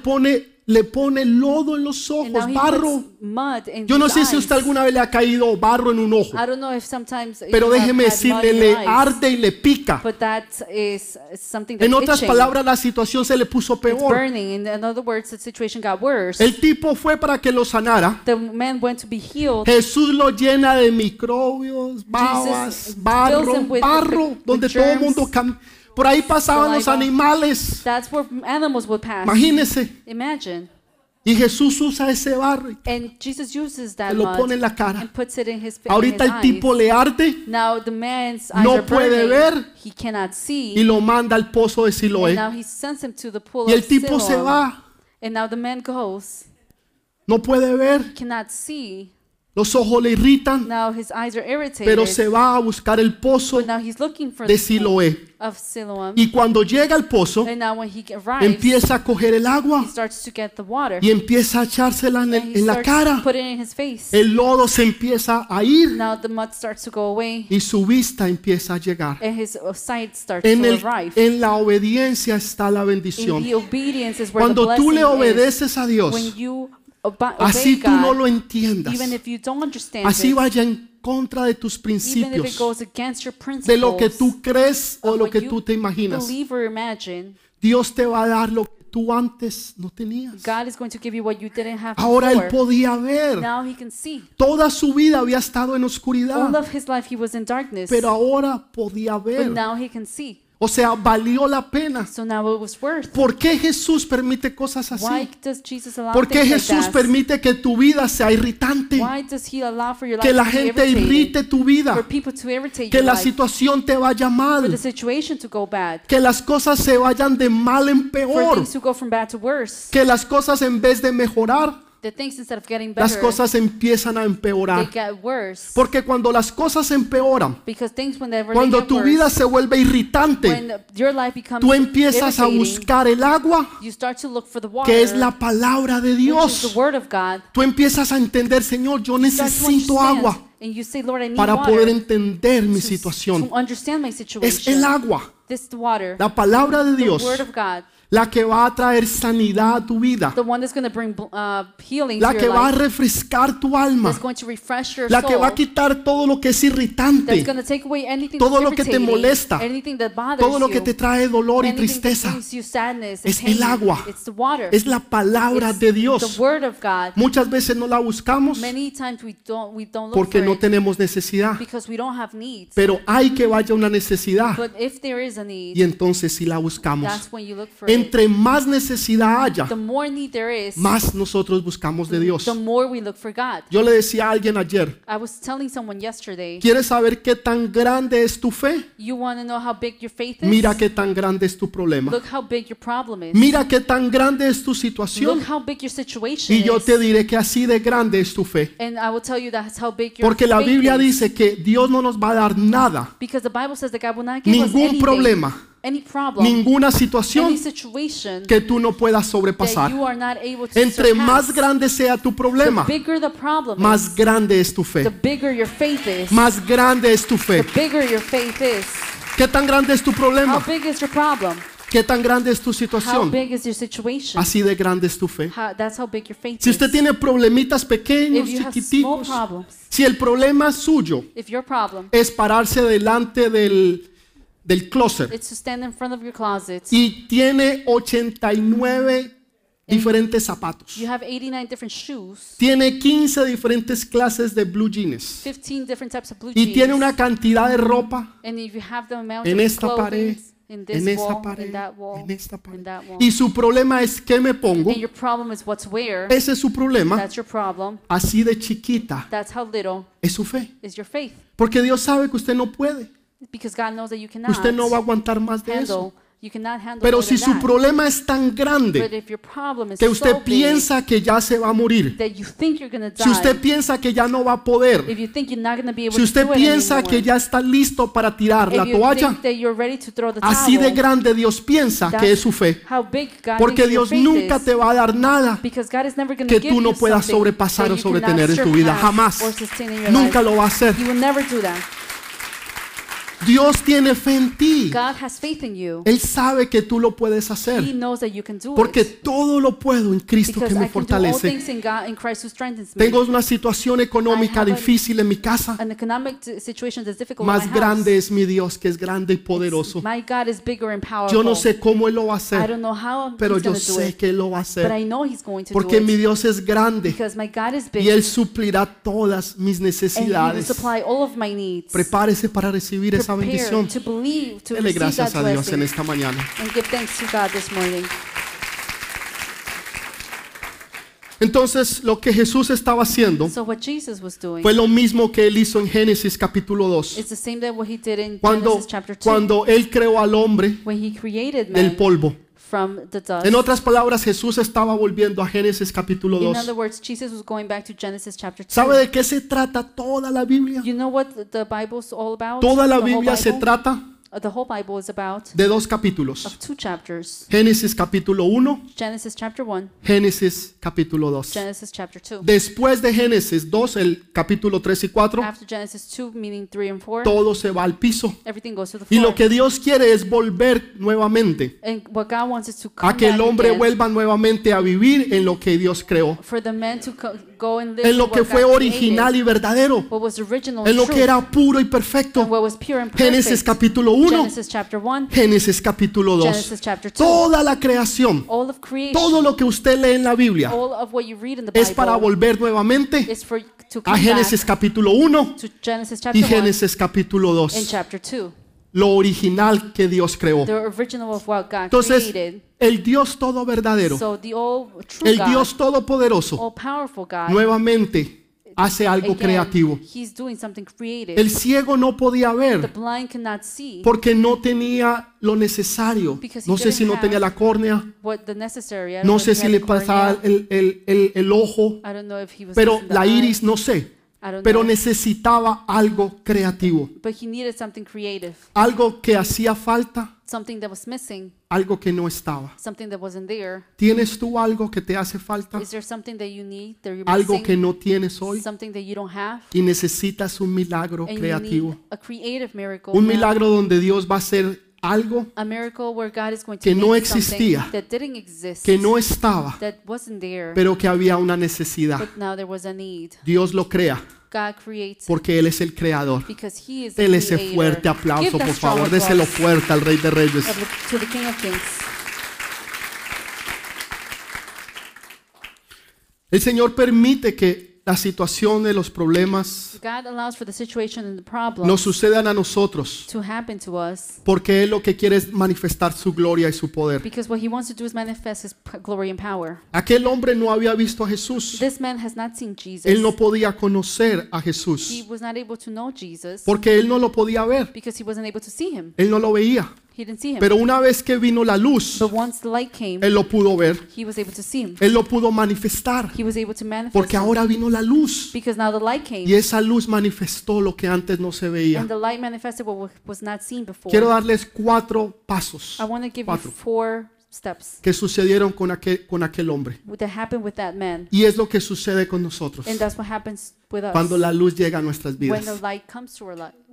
Speaker 1: pone lodo en los
Speaker 2: And now
Speaker 1: ojos,
Speaker 2: he
Speaker 1: barro.
Speaker 2: puts mud in
Speaker 1: Yo no
Speaker 2: his
Speaker 1: sé si a usted
Speaker 2: eyes.
Speaker 1: alguna vez le ha caído barro en un ojo,
Speaker 2: I don't know if sometimes
Speaker 1: pero
Speaker 2: you have
Speaker 1: déjeme
Speaker 2: had mud
Speaker 1: decirle,
Speaker 2: in your
Speaker 1: le
Speaker 2: eyes,
Speaker 1: arde y le pica.
Speaker 2: but that is something that's
Speaker 1: En otras
Speaker 2: itching.
Speaker 1: palabras, la situación se le puso
Speaker 2: It's
Speaker 1: peor.
Speaker 2: burning. In other words, the situation got worse.
Speaker 1: El tipo fue para que lo sanara.
Speaker 2: The man went to be healed.
Speaker 1: Jesús lo llena de microbios, babas,
Speaker 2: fills
Speaker 1: barro,
Speaker 2: him with
Speaker 1: donde todo el
Speaker 2: germs,
Speaker 1: mundo por ahí pasaban los
Speaker 2: saliva.
Speaker 1: animales.
Speaker 2: That's where animals would pass.
Speaker 1: Imagínese.
Speaker 2: Imagine.
Speaker 1: Y Jesús usa ese barro y
Speaker 2: And Jesus uses that
Speaker 1: lo
Speaker 2: mud
Speaker 1: pone en la cara.
Speaker 2: and puts it in his face.
Speaker 1: Ahorita el tipo le arde
Speaker 2: Now the man's eyes
Speaker 1: No
Speaker 2: are
Speaker 1: puede
Speaker 2: burning.
Speaker 1: ver.
Speaker 2: He cannot see.
Speaker 1: y lo manda al pozo de
Speaker 2: And
Speaker 1: Siloé.
Speaker 2: now he sends him to the pool
Speaker 1: Y el
Speaker 2: of
Speaker 1: tipo se
Speaker 2: Siloam.
Speaker 1: va,
Speaker 2: And now the man goes.
Speaker 1: no puede ver,
Speaker 2: Cannot see.
Speaker 1: los ojos le irritan,
Speaker 2: Now his eyes are irritated.
Speaker 1: pero se va a buscar el pozo
Speaker 2: But now he's looking for
Speaker 1: de
Speaker 2: the pool
Speaker 1: Siloé.
Speaker 2: of Siloam.
Speaker 1: Y cuando llega al pozo,
Speaker 2: And now when he arrives,
Speaker 1: empieza a coger el agua
Speaker 2: he starts to get the water.
Speaker 1: y empieza a echársela
Speaker 2: And he
Speaker 1: en la
Speaker 2: starts
Speaker 1: cara.
Speaker 2: to put it in his face.
Speaker 1: El lodo se empieza a ir
Speaker 2: Now the mud starts to go away.
Speaker 1: y su vista empieza a llegar.
Speaker 2: And his sight starts
Speaker 1: En,
Speaker 2: to arrive.
Speaker 1: en la obediencia está la
Speaker 2: In
Speaker 1: bendición.
Speaker 2: the obedience is where
Speaker 1: Cuando
Speaker 2: the
Speaker 1: tú
Speaker 2: blessing
Speaker 1: le
Speaker 2: is.
Speaker 1: obedeces a Dios,
Speaker 2: When you
Speaker 1: así
Speaker 2: obey
Speaker 1: tú no
Speaker 2: God,
Speaker 1: lo entiendas,
Speaker 2: even if you don't understand
Speaker 1: así
Speaker 2: it,
Speaker 1: vaya en contra de tus
Speaker 2: even if it
Speaker 1: principios,
Speaker 2: goes against your principles,
Speaker 1: de lo que tú crees o
Speaker 2: of
Speaker 1: lo
Speaker 2: what
Speaker 1: que
Speaker 2: you
Speaker 1: tú te imaginas,
Speaker 2: believe or imagine,
Speaker 1: Dios te va a dar lo que tú antes no tenías.
Speaker 2: God is going to give you what you didn't have
Speaker 1: Ahora él
Speaker 2: before.
Speaker 1: podía ver.
Speaker 2: Now he can see.
Speaker 1: Toda su vida había estado en
Speaker 2: All
Speaker 1: oscuridad,
Speaker 2: of his life he was in darkness,
Speaker 1: pero ahora podía
Speaker 2: but
Speaker 1: ver.
Speaker 2: now he can see.
Speaker 1: O sea, valió la pena.
Speaker 2: So now it was worth.
Speaker 1: ¿Por qué Jesús permite cosas
Speaker 2: Why
Speaker 1: así?
Speaker 2: does Jesus allow
Speaker 1: ¿Por qué
Speaker 2: things
Speaker 1: Jesús
Speaker 2: like that?
Speaker 1: permite que tu vida sea irritante?
Speaker 2: Why does he allow for your
Speaker 1: Que
Speaker 2: life
Speaker 1: la
Speaker 2: to be
Speaker 1: gente
Speaker 2: irritated?
Speaker 1: irrite tu vida,
Speaker 2: For people to irritate
Speaker 1: que
Speaker 2: your
Speaker 1: la
Speaker 2: life,
Speaker 1: situación te vaya
Speaker 2: for the
Speaker 1: mal,
Speaker 2: situation to go bad,
Speaker 1: que las cosas se vayan de mal en
Speaker 2: for
Speaker 1: peor,
Speaker 2: things to go from bad to worse.
Speaker 1: que las cosas en vez de mejorar,
Speaker 2: The things instead of getting
Speaker 1: las
Speaker 2: better,
Speaker 1: cosas empiezan a
Speaker 2: they
Speaker 1: empeorar.
Speaker 2: get worse.
Speaker 1: Porque cuando las cosas empeoran,
Speaker 2: Because things whenever
Speaker 1: cuando
Speaker 2: they get
Speaker 1: tu
Speaker 2: worse,
Speaker 1: vida se vuelve irritante,
Speaker 2: when your life becomes
Speaker 1: tú empiezas a
Speaker 2: irritating,
Speaker 1: buscar el agua,
Speaker 2: you start to look for the water,
Speaker 1: que es la palabra de
Speaker 2: which is
Speaker 1: Dios.
Speaker 2: the word of God.
Speaker 1: Tú empiezas a entender, Señor, yo
Speaker 2: You start to
Speaker 1: necesito
Speaker 2: understand,
Speaker 1: agua
Speaker 2: and you say, Lord, I need
Speaker 1: para
Speaker 2: water
Speaker 1: poder entender mi
Speaker 2: to
Speaker 1: situación.
Speaker 2: understand my
Speaker 1: Es
Speaker 2: situation.
Speaker 1: el agua,
Speaker 2: This is the water,
Speaker 1: la palabra de
Speaker 2: the
Speaker 1: Dios,
Speaker 2: word of God,
Speaker 1: la que va a traer sanidad a tu vida,
Speaker 2: the one that's going to bring healing
Speaker 1: la
Speaker 2: to
Speaker 1: que
Speaker 2: your
Speaker 1: va a
Speaker 2: life,
Speaker 1: refrescar tu alma,
Speaker 2: that's going to refresh your
Speaker 1: la
Speaker 2: soul,
Speaker 1: que va a quitar todo lo que es
Speaker 2: that's
Speaker 1: irritante,
Speaker 2: going to take away anything
Speaker 1: todo
Speaker 2: that's
Speaker 1: lo que te
Speaker 2: irritating,
Speaker 1: molesta,
Speaker 2: anything that bothers
Speaker 1: todo lo que
Speaker 2: you,
Speaker 1: te trae dolor y
Speaker 2: anything that
Speaker 1: tristeza.
Speaker 2: brings you sadness and
Speaker 1: Es
Speaker 2: pain.
Speaker 1: el agua,
Speaker 2: It's the water.
Speaker 1: es la palabra
Speaker 2: It's
Speaker 1: de
Speaker 2: the
Speaker 1: Dios.
Speaker 2: word of God.
Speaker 1: Muchas veces no la buscamos
Speaker 2: Many times we don't look
Speaker 1: porque
Speaker 2: for
Speaker 1: no
Speaker 2: it
Speaker 1: tenemos necesidad,
Speaker 2: because we don't have needs.
Speaker 1: pero hay que vaya una necesidad
Speaker 2: But if there is a need,
Speaker 1: y entonces sí la buscamos.
Speaker 2: that's when you look for it.
Speaker 1: entre más necesidad haya,
Speaker 2: the more need there is,
Speaker 1: más nosotros buscamos de Dios.
Speaker 2: the more we look for God.
Speaker 1: Yo le decía a alguien ayer,
Speaker 2: I was telling someone yesterday,
Speaker 1: ¿quieres saber qué tan grande es tu fe?
Speaker 2: you want to know how big your faith is?
Speaker 1: Mira qué tan grande es tu problema.
Speaker 2: Look how big your problem is.
Speaker 1: Mira qué tan grande es tu situación.
Speaker 2: Look how big your situation
Speaker 1: Y yo
Speaker 2: is.
Speaker 1: te diré que así de grande es tu fe.
Speaker 2: And I will tell you that's how big your
Speaker 1: Porque la
Speaker 2: faith
Speaker 1: Biblia
Speaker 2: is.
Speaker 1: dice que Dios no nos va a dar nada,
Speaker 2: Because the Bible says that God will not give us
Speaker 1: ningún
Speaker 2: anything,
Speaker 1: problema,
Speaker 2: any problem,
Speaker 1: ninguna
Speaker 2: any
Speaker 1: situación
Speaker 2: situation
Speaker 1: que tú no puedas
Speaker 2: that
Speaker 1: sobrepasar.
Speaker 2: you are not able to
Speaker 1: Entre más
Speaker 2: surpass.
Speaker 1: grande sea tu
Speaker 2: The
Speaker 1: problema,
Speaker 2: bigger the problem
Speaker 1: más
Speaker 2: is,
Speaker 1: grande es tu
Speaker 2: the
Speaker 1: fe.
Speaker 2: bigger your faith is.
Speaker 1: Más grande es tu
Speaker 2: The
Speaker 1: fe.
Speaker 2: bigger your faith is.
Speaker 1: ¿Qué tan grande es tu
Speaker 2: How
Speaker 1: problema?
Speaker 2: big is your problem?
Speaker 1: ¿Qué tan grande es tu
Speaker 2: How
Speaker 1: situación?
Speaker 2: big is your situation?
Speaker 1: Así de grande es tu fe.
Speaker 2: That's how big your faith
Speaker 1: Si usted
Speaker 2: is.
Speaker 1: tiene problemitas pequeños,
Speaker 2: If you have small
Speaker 1: chiquiticos,
Speaker 2: problems,
Speaker 1: si el problema suyo
Speaker 2: if your problem
Speaker 1: es pararse delante del closet
Speaker 2: is to stand in front of your closet,
Speaker 1: y tiene 89 diferentes zapatos,
Speaker 2: you have 89 different shoes,
Speaker 1: tiene 15 diferentes clases de blue jeans
Speaker 2: 15 different types of blue
Speaker 1: y tiene
Speaker 2: jeans,
Speaker 1: una cantidad de ropa
Speaker 2: and if you have the amount
Speaker 1: en
Speaker 2: of
Speaker 1: esta pared,
Speaker 2: clothing in this
Speaker 1: en esta
Speaker 2: wall, in
Speaker 1: pared,
Speaker 2: that wall,
Speaker 1: en esta pared.
Speaker 2: in that wall,
Speaker 1: Y su problema es ¿qué me pongo?
Speaker 2: and your problem is what to wear,
Speaker 1: Ese es su problema.
Speaker 2: that's your problem.
Speaker 1: Así de chiquita
Speaker 2: That's how little
Speaker 1: es su fe.
Speaker 2: is your faith.
Speaker 1: Porque Dios sabe que usted no puede.
Speaker 2: Because God knows that you cannot
Speaker 1: Usted no va a aguantar más de eso.
Speaker 2: handle, you cannot handle
Speaker 1: Pero
Speaker 2: more
Speaker 1: si
Speaker 2: than
Speaker 1: su
Speaker 2: that.
Speaker 1: problema es tan
Speaker 2: But
Speaker 1: grande
Speaker 2: if your problem is
Speaker 1: que usted
Speaker 2: so big
Speaker 1: piensa que ya se va a morir,
Speaker 2: that you think you're going to
Speaker 1: si usted
Speaker 2: die,
Speaker 1: piensa que ya no va a poder,
Speaker 2: if you think you're not going to be able
Speaker 1: si
Speaker 2: to
Speaker 1: usted
Speaker 2: do it
Speaker 1: piensa
Speaker 2: anymore,
Speaker 1: que ya está listo para tirar la
Speaker 2: if you
Speaker 1: toalla,
Speaker 2: think that you're ready to throw the
Speaker 1: así de
Speaker 2: towel,
Speaker 1: grande Dios piensa que es su fe.
Speaker 2: how big God
Speaker 1: Porque
Speaker 2: thinks your
Speaker 1: Dios
Speaker 2: faith
Speaker 1: nunca
Speaker 2: is.
Speaker 1: te va a dar nada
Speaker 2: Because God is never going
Speaker 1: que
Speaker 2: to give
Speaker 1: tú no
Speaker 2: you
Speaker 1: puedas
Speaker 2: something
Speaker 1: sobrepasar
Speaker 2: that
Speaker 1: o
Speaker 2: you
Speaker 1: sobretener
Speaker 2: cannot
Speaker 1: en tu vida.
Speaker 2: surpass
Speaker 1: Jamás.
Speaker 2: or sustain in your
Speaker 1: Nunca
Speaker 2: life.
Speaker 1: lo va a hacer.
Speaker 2: He will never do that.
Speaker 1: Dios tiene fe en ti.
Speaker 2: God has faith in you.
Speaker 1: Él sabe que tú lo puedes
Speaker 2: He
Speaker 1: hacer.
Speaker 2: knows that you can do
Speaker 1: Porque
Speaker 2: it.
Speaker 1: todo lo puedo en Cristo
Speaker 2: Because
Speaker 1: que me
Speaker 2: I can do all
Speaker 1: fortalece.
Speaker 2: things in God, in Christ who strengthens me.
Speaker 1: Tengo una situación económica
Speaker 2: I have
Speaker 1: difícil en mi casa.
Speaker 2: An economic situation that's difficult in
Speaker 1: Más
Speaker 2: my
Speaker 1: grande
Speaker 2: house.
Speaker 1: es mi Dios, que es grande y poderoso.
Speaker 2: My God is bigger and powerful.
Speaker 1: Yo no sé cómo Él lo va a
Speaker 2: I
Speaker 1: hacer,
Speaker 2: don't know how
Speaker 1: pero
Speaker 2: he's
Speaker 1: yo
Speaker 2: going to do
Speaker 1: sé
Speaker 2: it,
Speaker 1: que Él lo va a
Speaker 2: but
Speaker 1: hacer.
Speaker 2: I know he's going to
Speaker 1: Porque
Speaker 2: do
Speaker 1: mi
Speaker 2: it.
Speaker 1: Dios es grande
Speaker 2: Because my God is big
Speaker 1: y Él suplirá todas mis
Speaker 2: and he will
Speaker 1: necesidades.
Speaker 2: supply all of my needs.
Speaker 1: Prepárese para recibir esa
Speaker 2: Prepare
Speaker 1: bendición.
Speaker 2: to believe, to
Speaker 1: Dele
Speaker 2: receive
Speaker 1: gracias
Speaker 2: that
Speaker 1: a Dios en
Speaker 2: blessing
Speaker 1: esta mañana.
Speaker 2: and give thanks to God this morning.
Speaker 1: Entonces, lo que Jesús estaba haciendo
Speaker 2: So what Jesus was doing
Speaker 1: fue lo mismo que Él hizo en Génesis capítulo 2.
Speaker 2: is the same that what he did in
Speaker 1: Cuando,
Speaker 2: Genesis chapter 2
Speaker 1: cuando Él creó al hombre
Speaker 2: when he created
Speaker 1: del
Speaker 2: man
Speaker 1: polvo.
Speaker 2: from the dust.
Speaker 1: En otras palabras, Jesús estaba volviendo a Génesis capítulo
Speaker 2: In
Speaker 1: 2.
Speaker 2: other words, Jesus was going back to Genesis chapter 2.
Speaker 1: ¿Sabe de qué se trata toda la Biblia?
Speaker 2: You know what the Bible's all about?
Speaker 1: Toda la
Speaker 2: The whole
Speaker 1: Biblia se
Speaker 2: Bible?
Speaker 1: trata
Speaker 2: The whole Bible is about
Speaker 1: de dos capítulos.
Speaker 2: of two chapters.
Speaker 1: Génesis capítulo 1,
Speaker 2: Genesis chapter 1,
Speaker 1: Génesis capítulo 2.
Speaker 2: Genesis chapter 2.
Speaker 1: Después de Génesis 2, el capítulo 3 y 4,
Speaker 2: After Genesis 2, meaning 3 and 4,
Speaker 1: todo se va al piso.
Speaker 2: everything goes to the
Speaker 1: Y
Speaker 2: floor.
Speaker 1: lo que Dios quiere es volver nuevamente
Speaker 2: And what God wants is to come
Speaker 1: a que el
Speaker 2: back
Speaker 1: hombre
Speaker 2: again,
Speaker 1: vuelva nuevamente a vivir en lo que Dios creó,
Speaker 2: for the man to go and live
Speaker 1: en lo
Speaker 2: what
Speaker 1: que
Speaker 2: God
Speaker 1: fue original
Speaker 2: created,
Speaker 1: y verdadero,
Speaker 2: what was original
Speaker 1: en
Speaker 2: and
Speaker 1: lo
Speaker 2: true,
Speaker 1: que era puro y
Speaker 2: and
Speaker 1: perfecto.
Speaker 2: what was pure and
Speaker 1: Génesis
Speaker 2: perfect.
Speaker 1: capítulo 1,
Speaker 2: Genesis chapter 1,
Speaker 1: Génesis capítulo 2.
Speaker 2: Genesis chapter 2.
Speaker 1: Toda la creación,
Speaker 2: All of creation,
Speaker 1: todo lo que usted lee en la Biblia
Speaker 2: all of what you read in the
Speaker 1: es
Speaker 2: Bible
Speaker 1: para volver nuevamente
Speaker 2: is for to
Speaker 1: a
Speaker 2: come
Speaker 1: Génesis
Speaker 2: back
Speaker 1: capítulo 1
Speaker 2: to Genesis
Speaker 1: y
Speaker 2: chapter 1
Speaker 1: Génesis capítulo
Speaker 2: and
Speaker 1: 2.
Speaker 2: chapter 2.
Speaker 1: Lo original que Dios creó.
Speaker 2: The original of what God
Speaker 1: Entonces,
Speaker 2: created.
Speaker 1: el Dios todo verdadero,
Speaker 2: So the all true
Speaker 1: el
Speaker 2: God,
Speaker 1: Dios todopoderoso,
Speaker 2: all powerful God,
Speaker 1: nuevamente hace algo
Speaker 2: again,
Speaker 1: creativo.
Speaker 2: he's doing something creative.
Speaker 1: El ciego no podía
Speaker 2: The
Speaker 1: ver
Speaker 2: blind cannot see
Speaker 1: porque no tenía lo necesario.
Speaker 2: Because he
Speaker 1: No sé si no
Speaker 2: didn't
Speaker 1: tenía
Speaker 2: have
Speaker 1: la córnea,
Speaker 2: what the necessary. I don't
Speaker 1: no
Speaker 2: know if
Speaker 1: sé
Speaker 2: he
Speaker 1: si
Speaker 2: had
Speaker 1: le
Speaker 2: the cornea.
Speaker 1: pasaba el ojo,
Speaker 2: I don't know if he was
Speaker 1: pero
Speaker 2: missing the
Speaker 1: la
Speaker 2: eye.
Speaker 1: iris no sé.
Speaker 2: I don't
Speaker 1: Pero
Speaker 2: know.
Speaker 1: necesitaba algo creativo,
Speaker 2: But he needed something creative,
Speaker 1: algo que hacía falta,
Speaker 2: something that was missing,
Speaker 1: algo que no estaba.
Speaker 2: something that wasn't there.
Speaker 1: ¿Tienes tú algo que te hace falta?
Speaker 2: Is there something that you need, that you're
Speaker 1: Algo
Speaker 2: missing,
Speaker 1: que no tienes hoy
Speaker 2: something that you don't have,
Speaker 1: y necesitas un milagro
Speaker 2: and you
Speaker 1: creativo.
Speaker 2: need a creative miracle,
Speaker 1: Un
Speaker 2: now.
Speaker 1: milagro donde Dios va a hacer algo
Speaker 2: A miracle where God is going to
Speaker 1: que no
Speaker 2: make something
Speaker 1: existía,
Speaker 2: that didn't exist,
Speaker 1: que no estaba,
Speaker 2: that wasn't there,
Speaker 1: pero que había una necesidad.
Speaker 2: but now there was a need.
Speaker 1: Dios lo crea
Speaker 2: God creates
Speaker 1: porque Él es el creador.
Speaker 2: because He is the
Speaker 1: Dele ese
Speaker 2: creator.
Speaker 1: fuerte aplauso,
Speaker 2: Give that
Speaker 1: por
Speaker 2: strong
Speaker 1: favor. Déselo
Speaker 2: applause
Speaker 1: fuerte al Rey de Reyes.
Speaker 2: to the King of Kings.
Speaker 1: El Señor permite que las situaciones, los problemas
Speaker 2: God allows for the situation and the problem
Speaker 1: nos sucedan a nosotros
Speaker 2: to happen to us
Speaker 1: porque Él lo que quiere es manifestar su gloria y su poder.
Speaker 2: because what he wants to do is manifest his glory and power.
Speaker 1: Aquel hombre no había visto a Jesús.
Speaker 2: This man has not seen Jesus.
Speaker 1: Él no podía conocer a
Speaker 2: He
Speaker 1: Jesús
Speaker 2: was not able to know Jesus
Speaker 1: porque él no lo podía ver.
Speaker 2: because he wasn't able to see him.
Speaker 1: Él no lo veía.
Speaker 2: He didn't see him.
Speaker 1: Pero una vez que vino la luz,
Speaker 2: But once the light came,
Speaker 1: Él lo pudo ver.
Speaker 2: he was able to see him.
Speaker 1: Él lo pudo manifestar.
Speaker 2: He was able to manifest
Speaker 1: Porque
Speaker 2: him.
Speaker 1: ahora vino la luz.
Speaker 2: Because now the light came.
Speaker 1: Y esa luz manifestó lo que antes no se veía.
Speaker 2: And the light manifested what was not seen before.
Speaker 1: Quiero darles 4 pasos
Speaker 2: I want to give
Speaker 1: Cuatro.
Speaker 2: you 4 steps
Speaker 1: que sucedieron con aquel hombre.
Speaker 2: that happened with that man.
Speaker 1: Y es lo que sucede con nosotros
Speaker 2: And that's what happens with us
Speaker 1: cuando la luz llega a nuestras
Speaker 2: when
Speaker 1: vidas.
Speaker 2: the light comes to our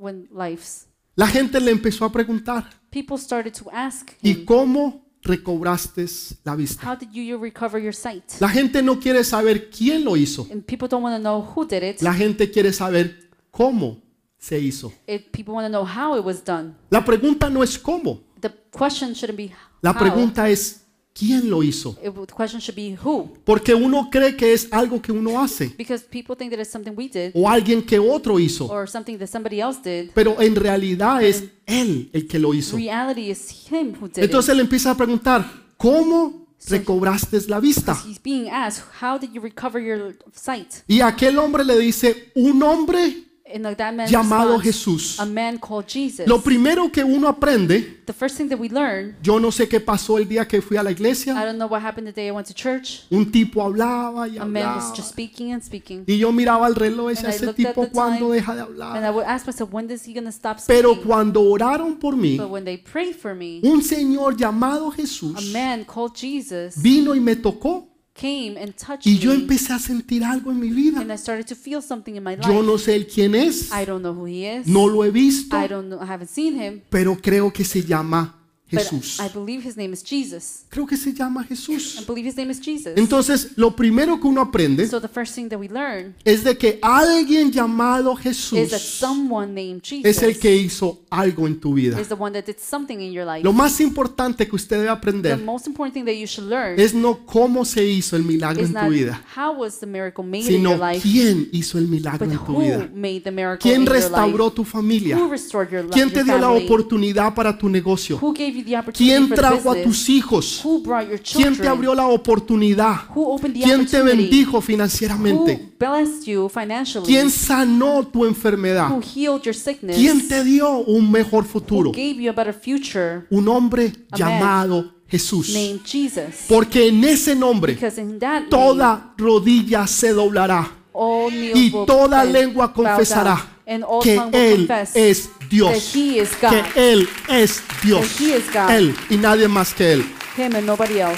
Speaker 2: lives.
Speaker 1: La gente le empezó a preguntar,
Speaker 2: People started to ask
Speaker 1: ¿y
Speaker 2: him,
Speaker 1: cómo recobraste la vista?
Speaker 2: how did you recover your sight?
Speaker 1: La gente no quiere saber quién lo hizo.
Speaker 2: And people don't want to know who did it.
Speaker 1: La gente quiere saber cómo se hizo.
Speaker 2: People want to know how it was done.
Speaker 1: La pregunta no es cómo.
Speaker 2: The question shouldn't be
Speaker 1: La
Speaker 2: how.
Speaker 1: pregunta es quién lo hizo.
Speaker 2: The question should be who.
Speaker 1: Porque uno cree que es algo que uno hace
Speaker 2: Because people think that it's something we did
Speaker 1: o alguien que otro hizo.
Speaker 2: or something that somebody else did.
Speaker 1: Pero en realidad es él el que lo hizo.
Speaker 2: Reality is him who did
Speaker 1: Entonces él empieza a preguntar, ¿cómo recobraste la vista?
Speaker 2: it. He's being asked, how did you recover your sight?
Speaker 1: Y aquel hombre le dice, un hombre
Speaker 2: And that man
Speaker 1: llamado
Speaker 2: responds,
Speaker 1: Jesús.
Speaker 2: a man called Jesus.
Speaker 1: Lo primero que uno aprende,
Speaker 2: The first thing that we learn,
Speaker 1: yo no sé qué pasó el día que fui a la
Speaker 2: I
Speaker 1: iglesia,
Speaker 2: don't know what happened the day I went to church.
Speaker 1: un tipo hablaba y
Speaker 2: A man was
Speaker 1: hablaba.
Speaker 2: just speaking and speaking.
Speaker 1: Y yo miraba el reloj y decía,
Speaker 2: And I
Speaker 1: ese
Speaker 2: looked at
Speaker 1: tipo
Speaker 2: the
Speaker 1: cuándo
Speaker 2: time,
Speaker 1: deja de
Speaker 2: And
Speaker 1: hablar.
Speaker 2: I would ask myself, when is he going to stop
Speaker 1: Pero
Speaker 2: speaking?
Speaker 1: cuando oraron por mí,
Speaker 2: But when they prayed for me,
Speaker 1: un señor llamado
Speaker 2: a
Speaker 1: Jesús
Speaker 2: man called Jesus
Speaker 1: vino y me tocó
Speaker 2: came and touched
Speaker 1: y yo
Speaker 2: me.
Speaker 1: empecé a sentir algo en mi vida.
Speaker 2: And I started to feel something in my
Speaker 1: Yo
Speaker 2: life.
Speaker 1: no sé el quién es,
Speaker 2: I don't know who he is.
Speaker 1: no lo he visto,
Speaker 2: I don't know. I haven't seen him.
Speaker 1: pero creo que se llama
Speaker 2: But
Speaker 1: Jesús.
Speaker 2: I believe his name is Jesus.
Speaker 1: Creo que se llama
Speaker 2: I
Speaker 1: Jesús.
Speaker 2: believe his name is Jesus.
Speaker 1: Entonces, lo primero que uno aprende
Speaker 2: So the first thing that we learn
Speaker 1: es de que alguien llamado
Speaker 2: is that
Speaker 1: Jesús
Speaker 2: someone named Jesus
Speaker 1: es el que hizo algo en tu vida.
Speaker 2: is the one that did something in your life.
Speaker 1: Lo más importante que usted debe
Speaker 2: The
Speaker 1: aprender
Speaker 2: most important thing that you should learn
Speaker 1: es no cómo se hizo el milagro
Speaker 2: is
Speaker 1: en
Speaker 2: not
Speaker 1: tu vida,
Speaker 2: how was the miracle made in
Speaker 1: sino
Speaker 2: your life,
Speaker 1: quién hizo el milagro
Speaker 2: but
Speaker 1: en tu
Speaker 2: who
Speaker 1: vida.
Speaker 2: made the miracle
Speaker 1: ¿Quién
Speaker 2: in your
Speaker 1: restauró
Speaker 2: life?
Speaker 1: tu familia?
Speaker 2: Who restored your life?
Speaker 1: ¿Quién te dio la
Speaker 2: family?
Speaker 1: oportunidad para tu negocio?
Speaker 2: Who gave you the opportunity
Speaker 1: ¿Quién
Speaker 2: for the
Speaker 1: trajo a
Speaker 2: business?
Speaker 1: tus hijos?
Speaker 2: Who brought your
Speaker 1: ¿Quién te
Speaker 2: children?
Speaker 1: abrió la oportunidad?
Speaker 2: Who opened the
Speaker 1: ¿Quién te
Speaker 2: opportunity?
Speaker 1: bendijo
Speaker 2: Who
Speaker 1: financieramente?
Speaker 2: blessed you financially?
Speaker 1: ¿Quién sanó tu
Speaker 2: Who
Speaker 1: enfermedad?
Speaker 2: healed your sickness?
Speaker 1: ¿Quién te dio un mejor
Speaker 2: Who
Speaker 1: futuro?
Speaker 2: gave you a better future?
Speaker 1: Un hombre
Speaker 2: A man
Speaker 1: llamado Jesús.
Speaker 2: Named Jesus.
Speaker 1: Porque en ese nombre
Speaker 2: Because in that name,
Speaker 1: toda rodilla se doblará
Speaker 2: all knees
Speaker 1: y
Speaker 2: will
Speaker 1: toda
Speaker 2: bend,
Speaker 1: lengua
Speaker 2: bow down,
Speaker 1: confesará
Speaker 2: and all
Speaker 1: que
Speaker 2: tongue will
Speaker 1: Él
Speaker 2: confess
Speaker 1: es
Speaker 2: that
Speaker 1: Dios.
Speaker 2: He is God,
Speaker 1: Que Él es Dios.
Speaker 2: That He is God.
Speaker 1: Él y nadie más que Él.
Speaker 2: Him and nobody else.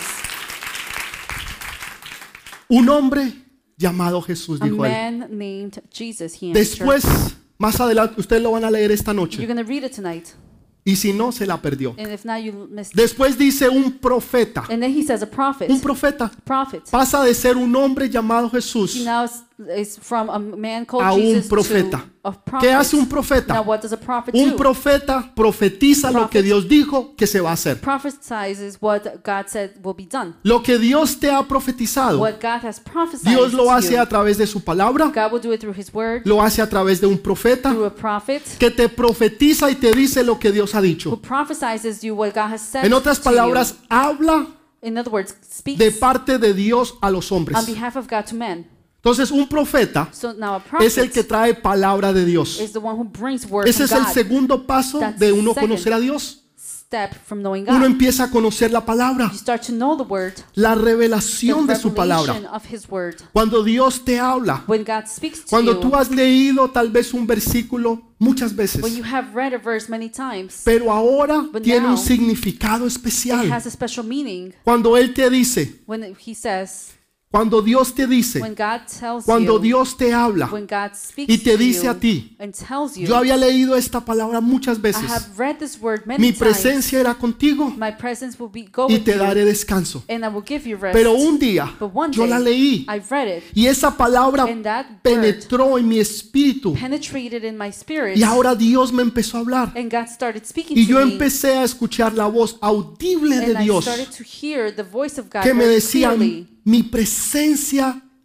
Speaker 1: Un hombre llamado Jesús,
Speaker 2: A
Speaker 1: dijo él.
Speaker 2: man named Jesus, he answered.
Speaker 1: Después, más adelante, ustedes lo van a leer esta
Speaker 2: You're
Speaker 1: noche.
Speaker 2: going to read it tonight.
Speaker 1: Y si no, se la perdió.
Speaker 2: And if not, you missed it.
Speaker 1: Después dice un profeta.
Speaker 2: And then he says a prophet.
Speaker 1: Un profeta
Speaker 2: Prophet.
Speaker 1: pasa de ser un hombre llamado Jesús
Speaker 2: He now is from a man called
Speaker 1: a un
Speaker 2: Jesus
Speaker 1: profeta.
Speaker 2: to a prophet.
Speaker 1: ¿Qué hace un
Speaker 2: Now
Speaker 1: profeta?
Speaker 2: what does a prophet
Speaker 1: Un
Speaker 2: do?
Speaker 1: profeta profetiza lo que Dios dijo que se va a hacer.
Speaker 2: Prophesizes what God said will be done.
Speaker 1: Lo que Dios te ha profetizado,
Speaker 2: What God has prophesied
Speaker 1: Dios lo
Speaker 2: to
Speaker 1: hace
Speaker 2: you.
Speaker 1: a través de su palabra,
Speaker 2: God will do it through His word,
Speaker 1: lo hace a través de un profeta
Speaker 2: through a prophet
Speaker 1: que te profetiza y te dice lo que Dios ha
Speaker 2: who
Speaker 1: dicho.
Speaker 2: prophesizes you what God has said
Speaker 1: En otras
Speaker 2: to
Speaker 1: palabras, habla
Speaker 2: you. In other words, speaks
Speaker 1: de parte de Dios a los hombres.
Speaker 2: on behalf of God to men.
Speaker 1: Entonces, un profeta
Speaker 2: So now a prophet
Speaker 1: es el que trae palabra de Dios.
Speaker 2: is the one who brings word
Speaker 1: Ese es
Speaker 2: from
Speaker 1: el
Speaker 2: God.
Speaker 1: segundo paso
Speaker 2: That's
Speaker 1: de uno
Speaker 2: second.
Speaker 1: conocer a Dios.
Speaker 2: Step from knowing
Speaker 1: Uno
Speaker 2: God.
Speaker 1: empieza a conocer la palabra,
Speaker 2: You start to know the word,
Speaker 1: la
Speaker 2: the
Speaker 1: revelación de su palabra.
Speaker 2: revelation of His word.
Speaker 1: Cuando Dios te habla,
Speaker 2: When God speaks to
Speaker 1: cuando
Speaker 2: you,
Speaker 1: tú has leído tal vez un versículo muchas veces,
Speaker 2: when you have read a verse many times,
Speaker 1: pero ahora
Speaker 2: But
Speaker 1: tiene un
Speaker 2: now,
Speaker 1: significado
Speaker 2: it
Speaker 1: especial.
Speaker 2: has a special meaning.
Speaker 1: Cuando Él te dice,
Speaker 2: When He says,
Speaker 1: cuando Dios te dice,
Speaker 2: when God tells
Speaker 1: cuando
Speaker 2: you,
Speaker 1: Dios te habla
Speaker 2: when God speaks
Speaker 1: y te
Speaker 2: to
Speaker 1: dice
Speaker 2: you
Speaker 1: a ti,
Speaker 2: and tells you,
Speaker 1: yo había leído esta palabra muchas
Speaker 2: I
Speaker 1: veces,
Speaker 2: have read this word many
Speaker 1: mi
Speaker 2: times.
Speaker 1: presencia era contigo
Speaker 2: My presence will go
Speaker 1: y
Speaker 2: with
Speaker 1: te
Speaker 2: you,
Speaker 1: daré descanso.
Speaker 2: and I will give you rest.
Speaker 1: Pero un día
Speaker 2: But one
Speaker 1: yo
Speaker 2: day,
Speaker 1: la leí
Speaker 2: I read it,
Speaker 1: y esa palabra
Speaker 2: and that word
Speaker 1: penetró en mi espíritu
Speaker 2: penetrated in my spirit,
Speaker 1: y ahora Dios me empezó a hablar
Speaker 2: and God started speaking
Speaker 1: y
Speaker 2: to
Speaker 1: yo
Speaker 2: me,
Speaker 1: empecé a escuchar la voz audible de
Speaker 2: and I
Speaker 1: Dios
Speaker 2: started to hear the voice of God
Speaker 1: que me
Speaker 2: very
Speaker 1: decía,
Speaker 2: clearly,
Speaker 1: mi presencia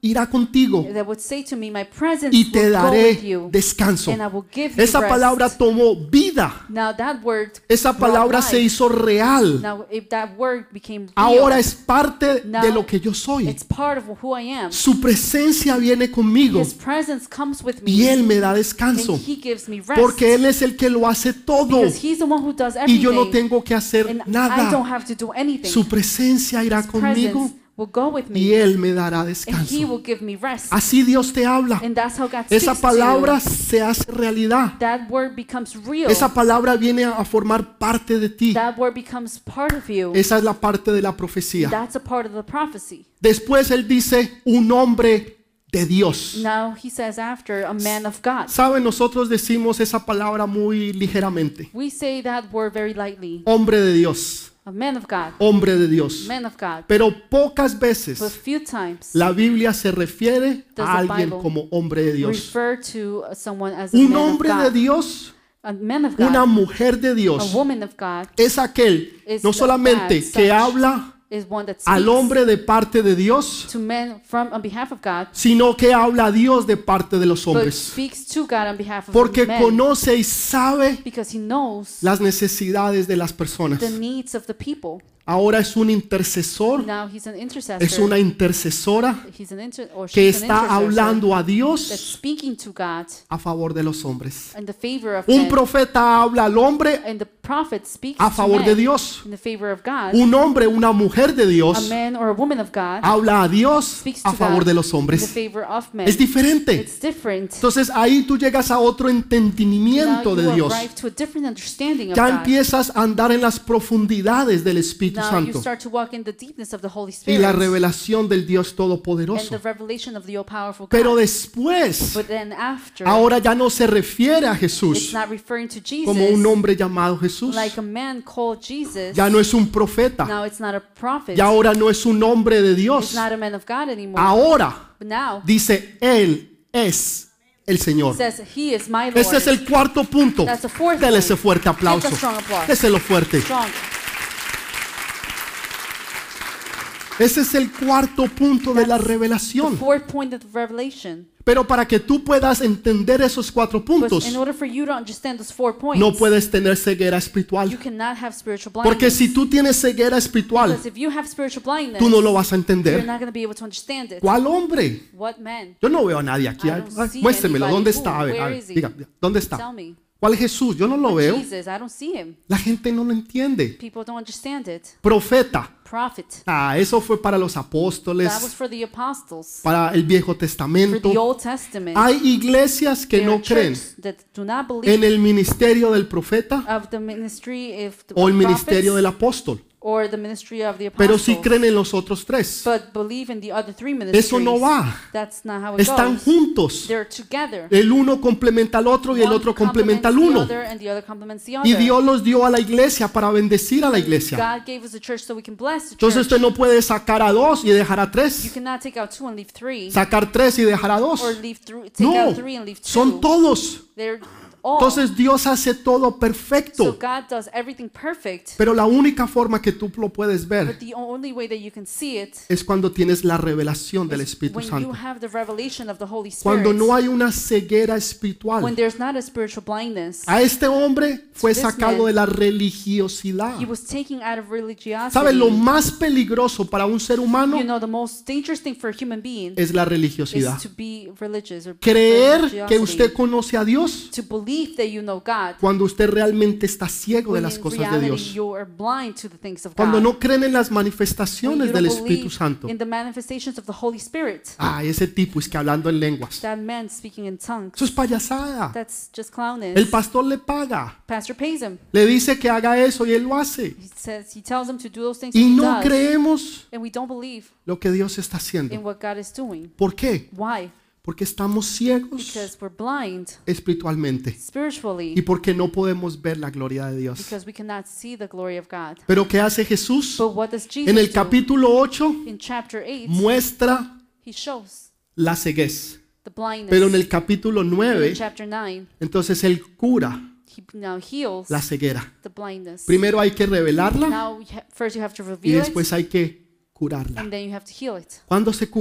Speaker 1: irá contigo
Speaker 2: that would say to me, my presence
Speaker 1: y te
Speaker 2: will go with
Speaker 1: daré
Speaker 2: you,
Speaker 1: descanso.
Speaker 2: and I will give you
Speaker 1: Esa palabra
Speaker 2: rest.
Speaker 1: tomó vida.
Speaker 2: Now that word
Speaker 1: Esa
Speaker 2: brought
Speaker 1: palabra se
Speaker 2: life.
Speaker 1: hizo real.
Speaker 2: Now if that word became real,
Speaker 1: Ahora es parte de
Speaker 2: now
Speaker 1: lo que yo soy.
Speaker 2: it's part of who I am.
Speaker 1: Su presencia viene conmigo
Speaker 2: His presence comes with me,
Speaker 1: y Él me da descanso.
Speaker 2: and He gives me rest.
Speaker 1: Porque Él es el que lo hace todo
Speaker 2: Because He's the one who does
Speaker 1: y yo no
Speaker 2: everything,
Speaker 1: tengo que hacer
Speaker 2: and I don't
Speaker 1: nada.
Speaker 2: have to do anything.
Speaker 1: Su presencia irá
Speaker 2: His
Speaker 1: conmigo
Speaker 2: presence will go with
Speaker 1: y
Speaker 2: me,
Speaker 1: Él me dará
Speaker 2: and He
Speaker 1: descanso.
Speaker 2: will give me rest.
Speaker 1: Así Dios te habla.
Speaker 2: And that's how God
Speaker 1: Esa
Speaker 2: speaks to
Speaker 1: palabra
Speaker 2: you.
Speaker 1: se hace realidad.
Speaker 2: That word becomes real.
Speaker 1: Esa palabra viene a formar parte de ti.
Speaker 2: That word becomes part of you.
Speaker 1: Esa es la parte de la profecía.
Speaker 2: That's a part of the prophecy.
Speaker 1: Después Él dice un hombre de Dios.
Speaker 2: Now He says after, a man of God.
Speaker 1: Saben, nosotros decimos esa palabra muy ligeramente.
Speaker 2: We say that word very lightly.
Speaker 1: Hombre de Dios.
Speaker 2: A man of God.
Speaker 1: Hombre de Dios.
Speaker 2: Man of God.
Speaker 1: Pero pocas
Speaker 2: But
Speaker 1: veces
Speaker 2: few times
Speaker 1: la Biblia se refiere
Speaker 2: Does
Speaker 1: a
Speaker 2: the
Speaker 1: alguien
Speaker 2: Bible
Speaker 1: como hombre de Dios.
Speaker 2: refer to someone as a
Speaker 1: Un
Speaker 2: man of
Speaker 1: hombre de
Speaker 2: God.
Speaker 1: Dios,
Speaker 2: A man of
Speaker 1: una
Speaker 2: God.
Speaker 1: mujer de
Speaker 2: A
Speaker 1: Dios,
Speaker 2: woman of God
Speaker 1: es aquel
Speaker 2: is
Speaker 1: no solamente
Speaker 2: that
Speaker 1: que
Speaker 2: such
Speaker 1: habla
Speaker 2: is one that
Speaker 1: al
Speaker 2: speaks
Speaker 1: hombre de parte de Dios,
Speaker 2: to men on behalf of God,
Speaker 1: sino que habla a Dios de parte de los
Speaker 2: but
Speaker 1: hombres.
Speaker 2: speaks to God on behalf of
Speaker 1: Porque
Speaker 2: men,
Speaker 1: conoce y sabe
Speaker 2: because He knows
Speaker 1: las necesidades de las personas.
Speaker 2: the needs of the people.
Speaker 1: Ahora es un intercesor,
Speaker 2: Now He's an intercessor.
Speaker 1: es una intercesora
Speaker 2: He's or
Speaker 1: que
Speaker 2: she's an
Speaker 1: está
Speaker 2: intercessor
Speaker 1: hablando a
Speaker 2: that's
Speaker 1: Dios
Speaker 2: speaking to God
Speaker 1: a favor de los hombres.
Speaker 2: in the favor of
Speaker 1: Un
Speaker 2: men.
Speaker 1: profeta habla al hombre
Speaker 2: And the prophet speaks
Speaker 1: a
Speaker 2: to
Speaker 1: favor
Speaker 2: men
Speaker 1: de Dios.
Speaker 2: in the favor of God.
Speaker 1: Un hombre, una mujer de
Speaker 2: A
Speaker 1: Dios
Speaker 2: man or a woman of God
Speaker 1: habla a Dios
Speaker 2: speaks
Speaker 1: a
Speaker 2: to
Speaker 1: favor
Speaker 2: God
Speaker 1: de los
Speaker 2: in the
Speaker 1: hombres.
Speaker 2: favor of men.
Speaker 1: Es diferente.
Speaker 2: It's different.
Speaker 1: Entonces ahí tú llegas a otro
Speaker 2: Now
Speaker 1: entendimiento de
Speaker 2: you
Speaker 1: Dios.
Speaker 2: arrive to a different understanding of
Speaker 1: Ya
Speaker 2: God.
Speaker 1: empiezas a andar en las profundidades del Espíritu
Speaker 2: Now you
Speaker 1: Santo
Speaker 2: start to walk in the deepness of the Holy
Speaker 1: y
Speaker 2: Spirit
Speaker 1: la revelación del Dios
Speaker 2: and
Speaker 1: Todopoderoso.
Speaker 2: the revelation of the all-powerful
Speaker 1: Pero
Speaker 2: God.
Speaker 1: después,
Speaker 2: But then after,
Speaker 1: ahora ya no se refiere a
Speaker 2: it's
Speaker 1: Jesús
Speaker 2: not referring to
Speaker 1: como un
Speaker 2: Jesus
Speaker 1: hombre llamado Jesús.
Speaker 2: like a man called Jesus.
Speaker 1: Ya no es un profeta.
Speaker 2: Now it's not a prophet.
Speaker 1: Ya ahora no es un hombre de
Speaker 2: It's
Speaker 1: Dios.
Speaker 2: not a man of God anymore.
Speaker 1: Ahora
Speaker 2: But now
Speaker 1: dice, Él es el Señor.
Speaker 2: it says He is my Lord.
Speaker 1: Este es el cuarto punto.
Speaker 2: That's the fourth
Speaker 1: Dele
Speaker 2: point.
Speaker 1: ese fuerte aplauso.
Speaker 2: Give a strong applause.
Speaker 1: Déselo fuerte.
Speaker 2: Strong.
Speaker 1: Ese es el cuarto punto de la
Speaker 2: The
Speaker 1: revelación.
Speaker 2: fourth point of the revelation.
Speaker 1: Pero para que tú puedas entender esos cuatro
Speaker 2: But
Speaker 1: puntos,
Speaker 2: in order for you to understand those 4 points,
Speaker 1: no puedes tener ceguera
Speaker 2: you
Speaker 1: espiritual.
Speaker 2: cannot have spiritual
Speaker 1: Porque
Speaker 2: blindness.
Speaker 1: si tú tienes ceguera espiritual,
Speaker 2: Because if you have spiritual blindness,
Speaker 1: tú no lo vas a
Speaker 2: you're
Speaker 1: entender.
Speaker 2: not going to be able to understand it.
Speaker 1: ¿Cuál hombre?
Speaker 2: What man?
Speaker 1: Yo no veo a nadie aquí.
Speaker 2: I don't
Speaker 1: Ay,
Speaker 2: see
Speaker 1: muéstremelo.
Speaker 2: anybody.
Speaker 1: ¿Dónde
Speaker 2: Who?
Speaker 1: está? A ver,
Speaker 2: Where is he?
Speaker 1: diga, ¿dónde está?
Speaker 2: Tell me.
Speaker 1: ¿Cuál Jesús? Yo no lo veo.
Speaker 2: Jesus, I don't see Him.
Speaker 1: La gente no lo entiende.
Speaker 2: People don't understand it.
Speaker 1: Profeta.
Speaker 2: Prophet.
Speaker 1: Eso fue para los
Speaker 2: That was
Speaker 1: apóstoles,
Speaker 2: for the apostles.
Speaker 1: para el Viejo
Speaker 2: For the
Speaker 1: Testamento.
Speaker 2: Old Testament.
Speaker 1: Hay iglesias que
Speaker 2: There are
Speaker 1: no creen
Speaker 2: churches that do not believe
Speaker 1: en el ministerio del profeta
Speaker 2: of the ministry of the
Speaker 1: o el ministerio
Speaker 2: prophets
Speaker 1: del apóstol,
Speaker 2: or the ministry of the
Speaker 1: pero
Speaker 2: apostles.
Speaker 1: sí creen en los otros tres.
Speaker 2: But believe in the other 3 ministries.
Speaker 1: Eso no va.
Speaker 2: That's not how it
Speaker 1: Están
Speaker 2: goes.
Speaker 1: juntos.
Speaker 2: They're together.
Speaker 1: El uno complementa al otro y el
Speaker 2: One
Speaker 1: otro complementa al
Speaker 2: complements the
Speaker 1: uno.
Speaker 2: other and the other complements the
Speaker 1: Y
Speaker 2: other.
Speaker 1: Dios los dio a la iglesia para bendecir a la iglesia.
Speaker 2: God gave us a church so we can bless the
Speaker 1: Entonces
Speaker 2: church.
Speaker 1: usted no puede sacar a dos y dejar a
Speaker 2: You
Speaker 1: tres.
Speaker 2: cannot take out 2 and leave 3,
Speaker 1: Sacar tres y dejar a dos.
Speaker 2: or take
Speaker 1: No,
Speaker 2: out 3 and leave 2.
Speaker 1: son todos.
Speaker 2: They're all.
Speaker 1: Entonces Dios hace todo
Speaker 2: So
Speaker 1: perfecto.
Speaker 2: God does everything perfect.
Speaker 1: Pero la única forma que tú lo puedes
Speaker 2: But
Speaker 1: ver
Speaker 2: the only way that you can see it
Speaker 1: es cuando tienes la revelación del
Speaker 2: is
Speaker 1: Espíritu
Speaker 2: when you
Speaker 1: Santo.
Speaker 2: have the revelation of the Holy Spirit.
Speaker 1: Cuando no hay una ceguera
Speaker 2: When
Speaker 1: espiritual.
Speaker 2: there's not a spiritual blindness.
Speaker 1: A este hombre fue
Speaker 2: this
Speaker 1: sacado
Speaker 2: man,
Speaker 1: de la religiosidad.
Speaker 2: He was taken out of religiosity.
Speaker 1: ¿Sabe? Lo más peligroso para un ser humano
Speaker 2: You know, the most dangerous thing for a human being
Speaker 1: es la
Speaker 2: is
Speaker 1: religiosidad.
Speaker 2: to be religious or
Speaker 1: Creer que
Speaker 2: religiosity.
Speaker 1: usted conoce a Dios
Speaker 2: To believe that you know God
Speaker 1: cuando usted realmente está ciego de
Speaker 2: when
Speaker 1: las
Speaker 2: in
Speaker 1: cosas de
Speaker 2: reality
Speaker 1: Dios.
Speaker 2: you are blind to the things of
Speaker 1: Cuando
Speaker 2: God.
Speaker 1: no creen en las
Speaker 2: When
Speaker 1: manifestaciones
Speaker 2: you
Speaker 1: del
Speaker 2: don't
Speaker 1: Espíritu
Speaker 2: believe
Speaker 1: Santo.
Speaker 2: in the manifestations of the Holy Spirit.
Speaker 1: Ese tipo es que hablando en lenguas.
Speaker 2: That man speaking in tongues.
Speaker 1: Eso es payasada.
Speaker 2: That's just clownish.
Speaker 1: El pastor le paga.
Speaker 2: Pastor pays him.
Speaker 1: Le dice que haga eso y él lo hace.
Speaker 2: He tells him to do those things
Speaker 1: Y
Speaker 2: and he
Speaker 1: no
Speaker 2: does.
Speaker 1: creemos
Speaker 2: And we don't believe
Speaker 1: lo que Dios está
Speaker 2: in
Speaker 1: haciendo.
Speaker 2: what God is doing.
Speaker 1: ¿Por qué?
Speaker 2: Why?
Speaker 1: Porque estamos ciegos
Speaker 2: Because we're blind
Speaker 1: espiritualmente
Speaker 2: spiritually.
Speaker 1: y porque no podemos ver la gloria de Dios.
Speaker 2: Because we cannot see the glory of God.
Speaker 1: Pero ¿qué hace Jesús?
Speaker 2: But what does Jesus
Speaker 1: En el
Speaker 2: do?
Speaker 1: capítulo 8
Speaker 2: In chapter 8,
Speaker 1: muestra
Speaker 2: he shows
Speaker 1: la ceguez.
Speaker 2: the blindness.
Speaker 1: Pero en el capítulo
Speaker 2: In
Speaker 1: 9,
Speaker 2: chapter 9,
Speaker 1: entonces él cura
Speaker 2: he now heals
Speaker 1: la ceguera.
Speaker 2: the blindness.
Speaker 1: Primero hay que revelarla
Speaker 2: Now, first you have to
Speaker 1: y
Speaker 2: reveal it,
Speaker 1: después hay que curarla.
Speaker 2: and then you have to heal it.
Speaker 1: ¿Cuándo se cura?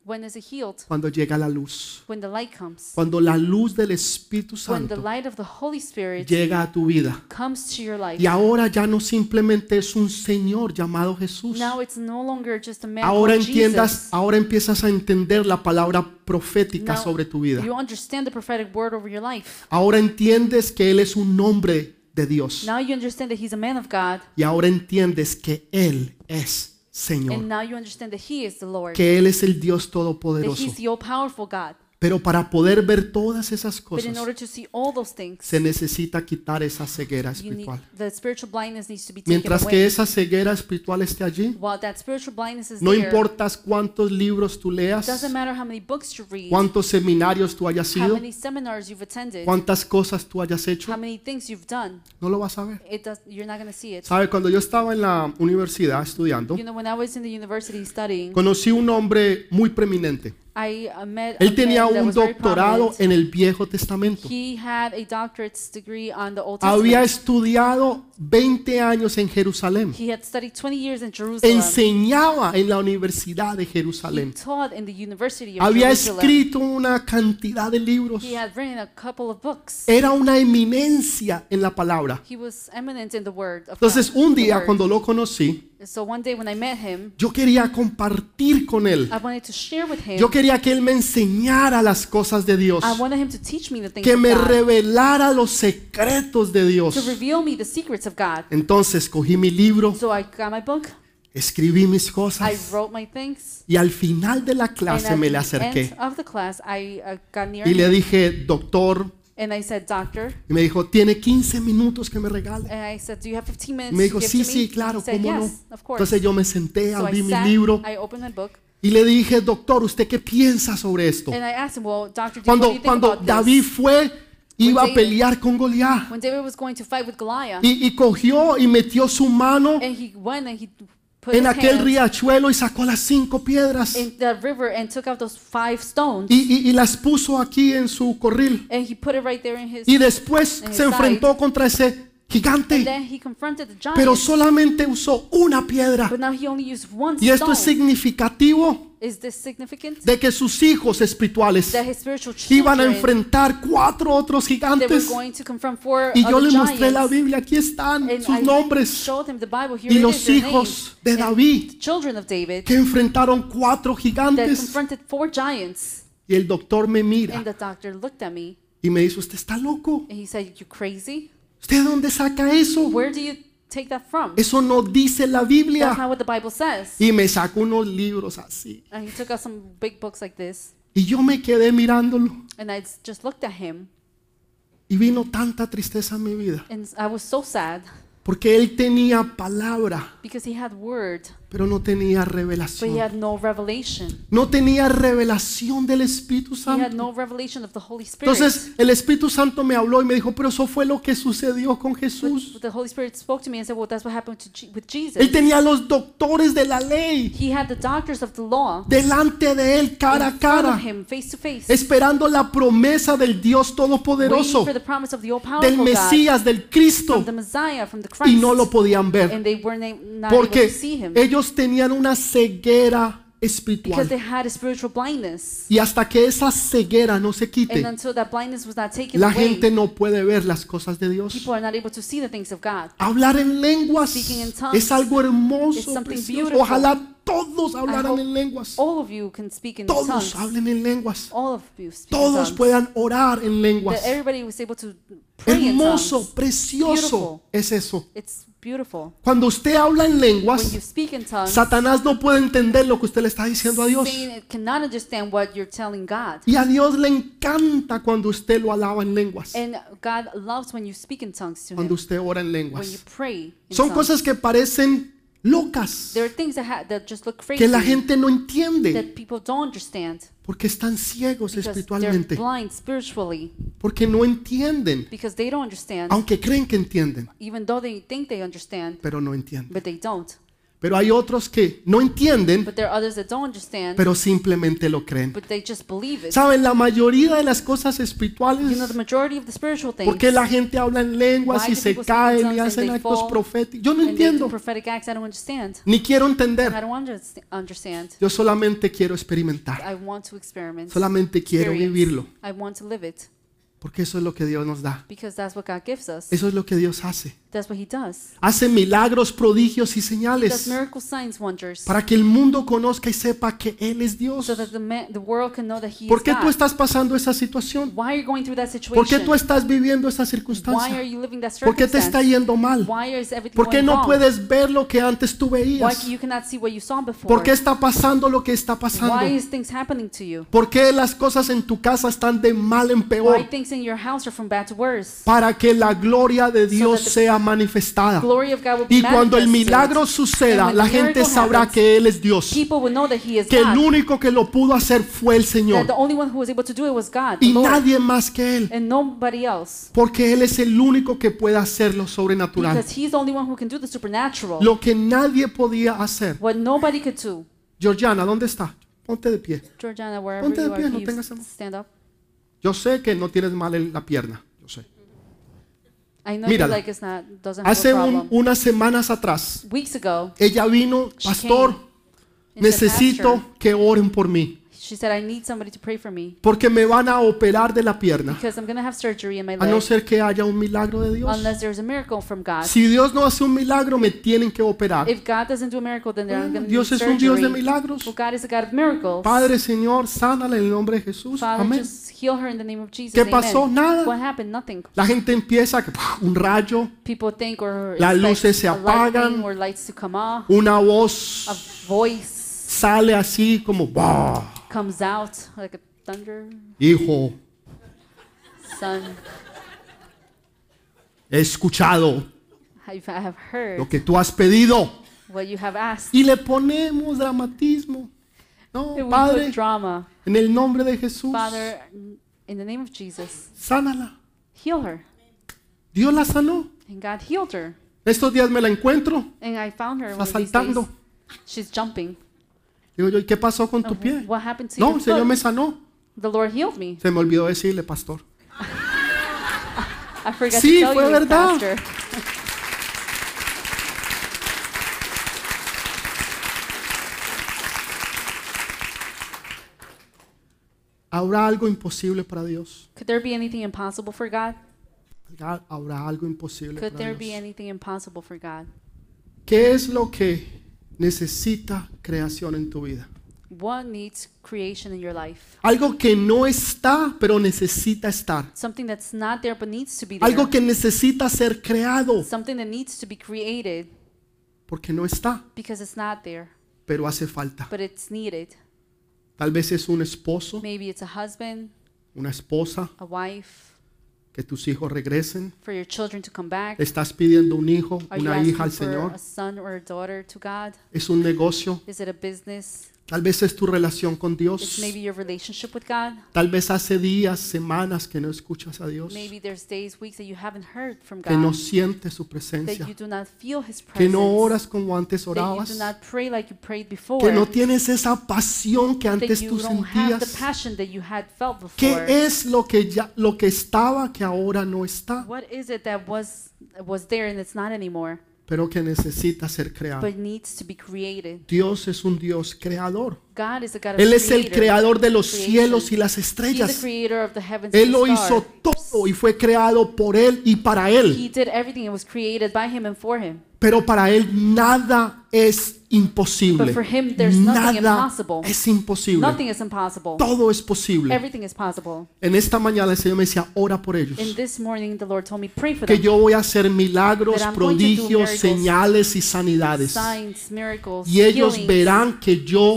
Speaker 2: When is it healed?
Speaker 1: Cuando llega la luz.
Speaker 2: When the light comes.
Speaker 1: Cuando la luz del Espíritu
Speaker 2: When the
Speaker 1: Santo
Speaker 2: light of the Holy Spirit
Speaker 1: llega a tu vida.
Speaker 2: comes to your life.
Speaker 1: Y ahora ya no simplemente es un Señor llamado Jesús.
Speaker 2: Now it's no longer just a man
Speaker 1: Ahora
Speaker 2: called
Speaker 1: entiendas,
Speaker 2: Jesus.
Speaker 1: ahora empiezas a entender la palabra profética
Speaker 2: Now
Speaker 1: sobre tu vida.
Speaker 2: you understand the prophetic word over your life.
Speaker 1: Ahora entiendes que Él es un hombre de Dios.
Speaker 2: Now you understand that he's a man of God.
Speaker 1: Y ahora entiendes que Él es
Speaker 2: And
Speaker 1: Señor.
Speaker 2: now you understand that he is the Lord.
Speaker 1: Que Él es el Dios
Speaker 2: That
Speaker 1: todopoderoso.
Speaker 2: he's the all-powerful God.
Speaker 1: Pero para poder ver todas esas
Speaker 2: But in
Speaker 1: cosas,
Speaker 2: order to see all those things,
Speaker 1: se necesita quitar esa ceguera
Speaker 2: you need,
Speaker 1: espiritual.
Speaker 2: the spiritual blindness needs to be taken
Speaker 1: Mientras que
Speaker 2: away.
Speaker 1: esa ceguera espiritual esté allí,
Speaker 2: While that spiritual blindness is
Speaker 1: no
Speaker 2: there,
Speaker 1: importa cuántos libros tú leas,
Speaker 2: doesn't matter how many books you read,
Speaker 1: cuántos seminarios tú hayas
Speaker 2: how
Speaker 1: ido,
Speaker 2: many seminars you've attended,
Speaker 1: cuántas cosas tú hayas hecho,
Speaker 2: how many things you've done,
Speaker 1: no lo vas a ver.
Speaker 2: you're not going to see it.
Speaker 1: ¿Sabe? Cuando yo estaba en la universidad estudiando,
Speaker 2: You know, when I was in the university studying,
Speaker 1: conocí un hombre muy preeminente.
Speaker 2: I met a
Speaker 1: Él tenía
Speaker 2: man that
Speaker 1: un
Speaker 2: was very
Speaker 1: doctorado
Speaker 2: prominent.
Speaker 1: en el Viejo Testamento.
Speaker 2: He had a doctorate's degree on the Old
Speaker 1: Había
Speaker 2: Testament.
Speaker 1: estudiado 20 años en Jerusalén.
Speaker 2: He had studied 20 years in Jerusalem.
Speaker 1: Enseñaba en la Universidad de
Speaker 2: He
Speaker 1: Jerusalén.
Speaker 2: taught in the University of
Speaker 1: Había
Speaker 2: Jerusalem.
Speaker 1: escrito una cantidad de libros.
Speaker 2: He had written a couple of books.
Speaker 1: Era una eminencia en la palabra.
Speaker 2: He was eminent in the word of
Speaker 1: Entonces,
Speaker 2: God,
Speaker 1: un
Speaker 2: the
Speaker 1: día
Speaker 2: word.
Speaker 1: cuando lo conocí,
Speaker 2: So one day when I met him,
Speaker 1: yo quería compartir con él.
Speaker 2: I wanted to share with him.
Speaker 1: Yo quería que él me enseñara las cosas de Dios.
Speaker 2: I wanted him to teach me the things
Speaker 1: Que
Speaker 2: of
Speaker 1: me
Speaker 2: God,
Speaker 1: revelara los secretos de
Speaker 2: to
Speaker 1: Dios.
Speaker 2: reveal me the secrets of God.
Speaker 1: Entonces cogí mi libro,
Speaker 2: So I got my book,
Speaker 1: escribí mis
Speaker 2: I
Speaker 1: cosas
Speaker 2: wrote my things,
Speaker 1: y al final de la
Speaker 2: and
Speaker 1: clase
Speaker 2: at
Speaker 1: me le
Speaker 2: the
Speaker 1: acerqué
Speaker 2: end of the class, I got near
Speaker 1: y le
Speaker 2: him,
Speaker 1: dije, doctor,
Speaker 2: and I said, Doctor,
Speaker 1: y me dijo, ¿tiene 15 minutos que me regale?
Speaker 2: and I said, do you have 15
Speaker 1: Y
Speaker 2: minutes
Speaker 1: me dijo,
Speaker 2: to
Speaker 1: sí,
Speaker 2: give to
Speaker 1: sí,
Speaker 2: me?
Speaker 1: claro,
Speaker 2: He said,
Speaker 1: cómo no.
Speaker 2: yes, of course.
Speaker 1: Entonces yo me senté,
Speaker 2: So I
Speaker 1: abrí mi
Speaker 2: sat,
Speaker 1: libro
Speaker 2: I opened my book,
Speaker 1: y le dije, doctor, ¿usted qué piensa sobre esto?
Speaker 2: and I asked him, well, Doctor, what do you think
Speaker 1: Cuando
Speaker 2: about
Speaker 1: David
Speaker 2: this?
Speaker 1: fue, iba a
Speaker 2: David-
Speaker 1: pelear con Goliat
Speaker 2: When David was going to fight with Goliath,
Speaker 1: y cogió y metió su mano
Speaker 2: and he went and he put
Speaker 1: en
Speaker 2: his
Speaker 1: aquel
Speaker 2: hand
Speaker 1: riachuelo y sacó las 5 piedras
Speaker 2: in the river and took out those 5 stones,
Speaker 1: y las puso aquí en su corril.
Speaker 2: and he put it right there in his,
Speaker 1: Y después
Speaker 2: en
Speaker 1: se
Speaker 2: el
Speaker 1: enfrentó contra ese
Speaker 2: and
Speaker 1: gigante,
Speaker 2: then he confronted the giant,
Speaker 1: pero solamente usó una piedra.
Speaker 2: but now he only used one
Speaker 1: Y esto es
Speaker 2: stone.
Speaker 1: significativo
Speaker 2: Is this significant?
Speaker 1: de que sus hijos espirituales
Speaker 2: That his spiritual
Speaker 1: iban a
Speaker 2: children,
Speaker 1: enfrentar 4 otros
Speaker 2: they were
Speaker 1: gigantes.
Speaker 2: going to confront 4
Speaker 1: Y yo
Speaker 2: other
Speaker 1: le mostré la
Speaker 2: giants,
Speaker 1: Biblia, aquí están
Speaker 2: and
Speaker 1: sus
Speaker 2: I
Speaker 1: nombres
Speaker 2: showed him the Bible. Here
Speaker 1: y
Speaker 2: it
Speaker 1: los
Speaker 2: is, their
Speaker 1: hijos
Speaker 2: names,
Speaker 1: de
Speaker 2: and
Speaker 1: David
Speaker 2: the children of David
Speaker 1: que enfrentaron 4
Speaker 2: that
Speaker 1: gigantes.
Speaker 2: confronted 4 giants.
Speaker 1: Y el doctor me
Speaker 2: And
Speaker 1: mira
Speaker 2: the doctor looked at me
Speaker 1: y me dice, ¿usted está loco?
Speaker 2: and he said, "You crazy?
Speaker 1: ¿Usted de dónde saca eso?
Speaker 2: Where do you take that from?
Speaker 1: Eso no dice la
Speaker 2: That's
Speaker 1: Biblia.
Speaker 2: not what the Bible says."
Speaker 1: Y me sacó unos libros así.
Speaker 2: And he took out some big books like this,
Speaker 1: Y yo me quedé mirándolo.
Speaker 2: and I just looked at him,
Speaker 1: Y vino tanta tristeza en mi vida.
Speaker 2: and I was so sad
Speaker 1: Porque él tenía palabra,
Speaker 2: because he had word,
Speaker 1: pero no tenía
Speaker 2: but he
Speaker 1: revelación.
Speaker 2: had no revelation.
Speaker 1: No tenía revelación del Espíritu
Speaker 2: He had
Speaker 1: Santo.
Speaker 2: no revelation of the Holy Spirit.
Speaker 1: Entonces el Espíritu Santo me habló y me dijo, pero eso fue lo que sucedió con Jesús.
Speaker 2: But the Holy Spirit spoke to me and said, "Well, that's what happened with Jesus.
Speaker 1: Él tenía los doctores de la ley
Speaker 2: He had the doctors of the law
Speaker 1: delante de él cara a
Speaker 2: in front of
Speaker 1: cara,
Speaker 2: him, face to face,
Speaker 1: esperando la promesa del Dios
Speaker 2: waiting
Speaker 1: Todopoderoso,
Speaker 2: for the promise of the
Speaker 1: del
Speaker 2: all-powerful God,
Speaker 1: Mesías, del Cristo,
Speaker 2: from the Messiah, from the
Speaker 1: y
Speaker 2: Christ,
Speaker 1: no lo podían ver
Speaker 2: and they were not able
Speaker 1: porque
Speaker 2: to see him
Speaker 1: ellos tenían una ceguera
Speaker 2: because
Speaker 1: espiritual.
Speaker 2: they had a spiritual blindness.
Speaker 1: Y hasta que esa ceguera no se
Speaker 2: And
Speaker 1: quite,
Speaker 2: until that blindness was not taken
Speaker 1: la
Speaker 2: away,
Speaker 1: gente no puede ver las cosas de Dios.
Speaker 2: people are not able to see the things of God.
Speaker 1: Hablar en lenguas
Speaker 2: Speaking in tongues
Speaker 1: es algo
Speaker 2: is
Speaker 1: hermoso,
Speaker 2: something
Speaker 1: precioso.
Speaker 2: beautiful.
Speaker 1: Ojalá todos
Speaker 2: I
Speaker 1: hablaran
Speaker 2: hope
Speaker 1: en lenguas.
Speaker 2: all of you can speak in
Speaker 1: Todos
Speaker 2: tongues.
Speaker 1: hablen en lenguas.
Speaker 2: All of you speak in
Speaker 1: Todos
Speaker 2: tongues.
Speaker 1: puedan orar en lenguas.
Speaker 2: That everybody was able to pray in
Speaker 1: Hermoso,
Speaker 2: tongues.
Speaker 1: precioso
Speaker 2: Beautiful.
Speaker 1: es eso.
Speaker 2: It's beautiful.
Speaker 1: Cuando usted habla en
Speaker 2: When
Speaker 1: lenguas,
Speaker 2: you speak in tongues,
Speaker 1: Satanás no puede entender lo que usted le está diciendo a Dios.
Speaker 2: Satan cannot understand what you're telling God.
Speaker 1: Y a Dios le encanta cuando usted lo alaba en lenguas.
Speaker 2: And God loves when you speak in tongues to
Speaker 1: Cuando
Speaker 2: Him,
Speaker 1: usted ora en
Speaker 2: when you
Speaker 1: lenguas.
Speaker 2: pray in
Speaker 1: Son
Speaker 2: tongues.
Speaker 1: cosas que parecen locas,
Speaker 2: There are things that just look crazy,
Speaker 1: que la gente no entiende,
Speaker 2: that people don't understand
Speaker 1: porque están ciegos
Speaker 2: because they're
Speaker 1: espiritualmente,
Speaker 2: blind spiritually,
Speaker 1: porque no entienden,
Speaker 2: because they don't understand,
Speaker 1: aunque creen que entienden,
Speaker 2: even though they think they understand,
Speaker 1: pero no entienden.
Speaker 2: but they don't.
Speaker 1: Pero hay otros que no entienden,
Speaker 2: But there are others that don't understand,
Speaker 1: pero simplemente lo creen.
Speaker 2: but they just believe it.
Speaker 1: ¿Saben? La mayoría de las cosas
Speaker 2: You
Speaker 1: espirituales,
Speaker 2: know, the majority of the spiritual things,
Speaker 1: ¿por qué la gente habla en lenguas
Speaker 2: Why
Speaker 1: y
Speaker 2: do
Speaker 1: se
Speaker 2: people speak in
Speaker 1: caen y
Speaker 2: tongues and
Speaker 1: hacen
Speaker 2: they
Speaker 1: actos
Speaker 2: fall
Speaker 1: proféticos? Yo no
Speaker 2: and they do
Speaker 1: entiendo,
Speaker 2: prophetic acts, I don't understand.
Speaker 1: ni quiero entender.
Speaker 2: I don't understand.
Speaker 1: Yo solamente quiero experimentar.
Speaker 2: I want to experiment.
Speaker 1: Solamente quiero
Speaker 2: Experience.
Speaker 1: vivirlo.
Speaker 2: I want to live it
Speaker 1: Porque eso es lo que Dios nos da.
Speaker 2: because that's what God gives us.
Speaker 1: Eso es lo que Dios hace.
Speaker 2: That's what He does.
Speaker 1: Hace milagros, prodigios y
Speaker 2: He does
Speaker 1: señales
Speaker 2: miracles, signs, wonders,
Speaker 1: para que el mundo conozca y sepa que Él es Dios.
Speaker 2: so that the world can know that He
Speaker 1: ¿Por
Speaker 2: is
Speaker 1: qué tú
Speaker 2: God.
Speaker 1: estás pasando esa situación?
Speaker 2: Why are you going through that
Speaker 1: ¿Por qué
Speaker 2: situation?
Speaker 1: tú estás viviendo esa
Speaker 2: Why
Speaker 1: circunstancia?
Speaker 2: are you living that
Speaker 1: ¿Por qué te está
Speaker 2: circumstance?
Speaker 1: yendo mal?
Speaker 2: Why is everything
Speaker 1: ¿Por qué
Speaker 2: going
Speaker 1: no
Speaker 2: wrong?
Speaker 1: puedes ver lo que antes tú
Speaker 2: Why
Speaker 1: veías?
Speaker 2: you cannot see what you saw before?
Speaker 1: ¿Por qué está pasando lo que está pasando?
Speaker 2: Why is things happening to you?
Speaker 1: ¿Por qué las cosas en tu casa están de mal en
Speaker 2: Why
Speaker 1: peor?
Speaker 2: things in your house are from bad to worse?
Speaker 1: Para que la gloria de Dios sea manifestada.
Speaker 2: Glory of God will be
Speaker 1: Y cuando el
Speaker 2: manifested.
Speaker 1: milagro suceda,
Speaker 2: And when
Speaker 1: la
Speaker 2: the
Speaker 1: gente
Speaker 2: miracle
Speaker 1: sabrá
Speaker 2: happens,
Speaker 1: que Él es Dios.
Speaker 2: People will know that He is
Speaker 1: Que el
Speaker 2: God.
Speaker 1: único que lo pudo hacer fue el
Speaker 2: That
Speaker 1: Señor.
Speaker 2: the only one who was able to do it was God, the
Speaker 1: Y
Speaker 2: Lord,
Speaker 1: nadie más que Él.
Speaker 2: and nobody else.
Speaker 1: Porque Él es el único que puede hacer lo sobrenatural.
Speaker 2: Because He's the only one who can do the supernatural.
Speaker 1: Lo que nadie podía hacer.
Speaker 2: What nobody could do.
Speaker 1: Georgiana, ¿dónde está? Ponte de pie.
Speaker 2: Georgiana, wherever
Speaker 1: Ponte de
Speaker 2: you
Speaker 1: pie,
Speaker 2: are,
Speaker 1: no
Speaker 2: can
Speaker 1: tengas
Speaker 2: you
Speaker 1: temor.
Speaker 2: stand up?
Speaker 1: Yo sé que no tienes mal en la pierna. Yo sé.
Speaker 2: I know your
Speaker 1: Mírala.
Speaker 2: leg is not, doesn't have
Speaker 1: Hace
Speaker 2: a problem.
Speaker 1: unas semanas atrás,
Speaker 2: Weeks ago,
Speaker 1: ella vino,
Speaker 2: She
Speaker 1: pastor,
Speaker 2: came and said,
Speaker 1: necesito
Speaker 2: "Pastor."
Speaker 1: que oren por mí.
Speaker 2: she said, I need somebody to pray for me
Speaker 1: Porque me van a operar de la pierna.
Speaker 2: because I'm going to have surgery in my
Speaker 1: A no
Speaker 2: leg
Speaker 1: ser que haya un milagro de Dios.
Speaker 2: unless there's a miracle from God.
Speaker 1: Si Dios no hace un milagro, me tienen que operar.
Speaker 2: If God doesn't do a miracle, then they're going to need
Speaker 1: Dios es un Dios de
Speaker 2: surgery.
Speaker 1: milagros.
Speaker 2: Well, God is a God of miracles.
Speaker 1: Padre, Señor, sánala en el nombre de Jesús.
Speaker 2: Father,
Speaker 1: Amén.
Speaker 2: just heal her in the name of Jesus.
Speaker 1: ¿Qué
Speaker 2: Amen.
Speaker 1: pasó? Nada.
Speaker 2: What happened? Nothing.
Speaker 1: La gente empieza, un rayo,
Speaker 2: People think or
Speaker 1: Las
Speaker 2: expect
Speaker 1: luces se
Speaker 2: a lightning
Speaker 1: apagan.
Speaker 2: or lights to come off.
Speaker 1: una
Speaker 2: A
Speaker 1: voz
Speaker 2: voice
Speaker 1: sale así como, "Bah,
Speaker 2: comes out like a thunder,
Speaker 1: hijo,
Speaker 2: son.
Speaker 1: he escuchado
Speaker 2: I have heard
Speaker 1: lo que tú has pedido."
Speaker 2: what you have asked.
Speaker 1: Y le ponemos dramatismo. No,
Speaker 2: And we
Speaker 1: Padre,
Speaker 2: put drama.
Speaker 1: en el nombre de Jesús,
Speaker 2: Father, in the name of Jesus,
Speaker 1: sánala.
Speaker 2: heal her.
Speaker 1: Dios la sanó.
Speaker 2: And God healed her.
Speaker 1: Estos días me la encuentro,
Speaker 2: And I found her
Speaker 1: está
Speaker 2: one of these
Speaker 1: saltando.
Speaker 2: days. She's jumping.
Speaker 1: Digo yo, ¿y qué pasó con tu pie?
Speaker 2: What happened to
Speaker 1: No,
Speaker 2: your
Speaker 1: el Señor
Speaker 2: foot?
Speaker 1: me sanó.
Speaker 2: The Lord healed me.
Speaker 1: Se me olvidó decirle, pastor.
Speaker 2: I forgot
Speaker 1: Sí,
Speaker 2: to tell
Speaker 1: fue
Speaker 2: you,
Speaker 1: verdad.
Speaker 2: Pastor.
Speaker 1: ¿Habrá algo imposible para Dios?
Speaker 2: Could there be anything impossible for God?
Speaker 1: ¿Habrá algo imposible
Speaker 2: Could
Speaker 1: para
Speaker 2: there be
Speaker 1: Dios?
Speaker 2: anything impossible for God?
Speaker 1: ¿Qué es lo que necesita creación en tu vida?
Speaker 2: What needs creation in your life?
Speaker 1: Algo que no está, pero necesita estar.
Speaker 2: Something that's not there but needs to be there.
Speaker 1: Algo que necesita ser creado,
Speaker 2: Something that needs to be created
Speaker 1: porque no está,
Speaker 2: because it's not there,
Speaker 1: pero hace falta.
Speaker 2: but it's needed.
Speaker 1: Tal vez es un esposo,
Speaker 2: Maybe it's a husband,
Speaker 1: una esposa,
Speaker 2: a wife,
Speaker 1: que tus hijos regresen.
Speaker 2: for your children to come back.
Speaker 1: Estás pidiendo un hijo,
Speaker 2: Are you
Speaker 1: una
Speaker 2: asking
Speaker 1: hija al
Speaker 2: for
Speaker 1: Señor.
Speaker 2: a son or a daughter to God?
Speaker 1: Es un negocio.
Speaker 2: Is it a business?
Speaker 1: Tal vez es tu relación con
Speaker 2: It's
Speaker 1: Dios.
Speaker 2: maybe your relationship with God.
Speaker 1: Tal vez hace días, semanas que no escuchas a Dios.
Speaker 2: Maybe there's days, weeks that you haven't heard from
Speaker 1: Que no
Speaker 2: God,
Speaker 1: sientes su
Speaker 2: that
Speaker 1: presencia.
Speaker 2: you do not feel His
Speaker 1: Que no
Speaker 2: presence,
Speaker 1: oras como antes
Speaker 2: that you
Speaker 1: orabas.
Speaker 2: do not pray like you prayed before,
Speaker 1: Que no tienes esa pasión que
Speaker 2: that
Speaker 1: antes
Speaker 2: you
Speaker 1: tú
Speaker 2: don't have the
Speaker 1: sentías.
Speaker 2: passion that you had felt before.
Speaker 1: ¿Qué es lo que estaba que ahora no está?
Speaker 2: What is it that was there and it's not anymore,
Speaker 1: Pero que necesita ser creado.
Speaker 2: but needs to be created?
Speaker 1: Dios es un Dios creador.
Speaker 2: God is a God of
Speaker 1: Él es el
Speaker 2: creator.
Speaker 1: creador de los
Speaker 2: creation.
Speaker 1: cielos y las
Speaker 2: He's the
Speaker 1: estrellas.
Speaker 2: creator of the heavens
Speaker 1: Él
Speaker 2: and
Speaker 1: lo
Speaker 2: the
Speaker 1: hizo
Speaker 2: stars.
Speaker 1: todo y fue creado por Él y para Él.
Speaker 2: He did everything. It was created by Him and for Him.
Speaker 1: Pero para Él nada es imposible.
Speaker 2: But for him, there's nothing
Speaker 1: Nada
Speaker 2: impossible.
Speaker 1: es imposible.
Speaker 2: Nothing is impossible.
Speaker 1: Todo es posible.
Speaker 2: Everything is possible.
Speaker 1: En esta mañana el Señor me decía, ora por ellos.
Speaker 2: And this morning, the Lord told me, pray for
Speaker 1: Que
Speaker 2: them.
Speaker 1: yo voy a hacer milagros,
Speaker 2: That I'm going to do
Speaker 1: prodigios,
Speaker 2: miracles,
Speaker 1: señales y sanidades.
Speaker 2: Signs, miracles,
Speaker 1: Y ellos
Speaker 2: healings.
Speaker 1: verán que yo soy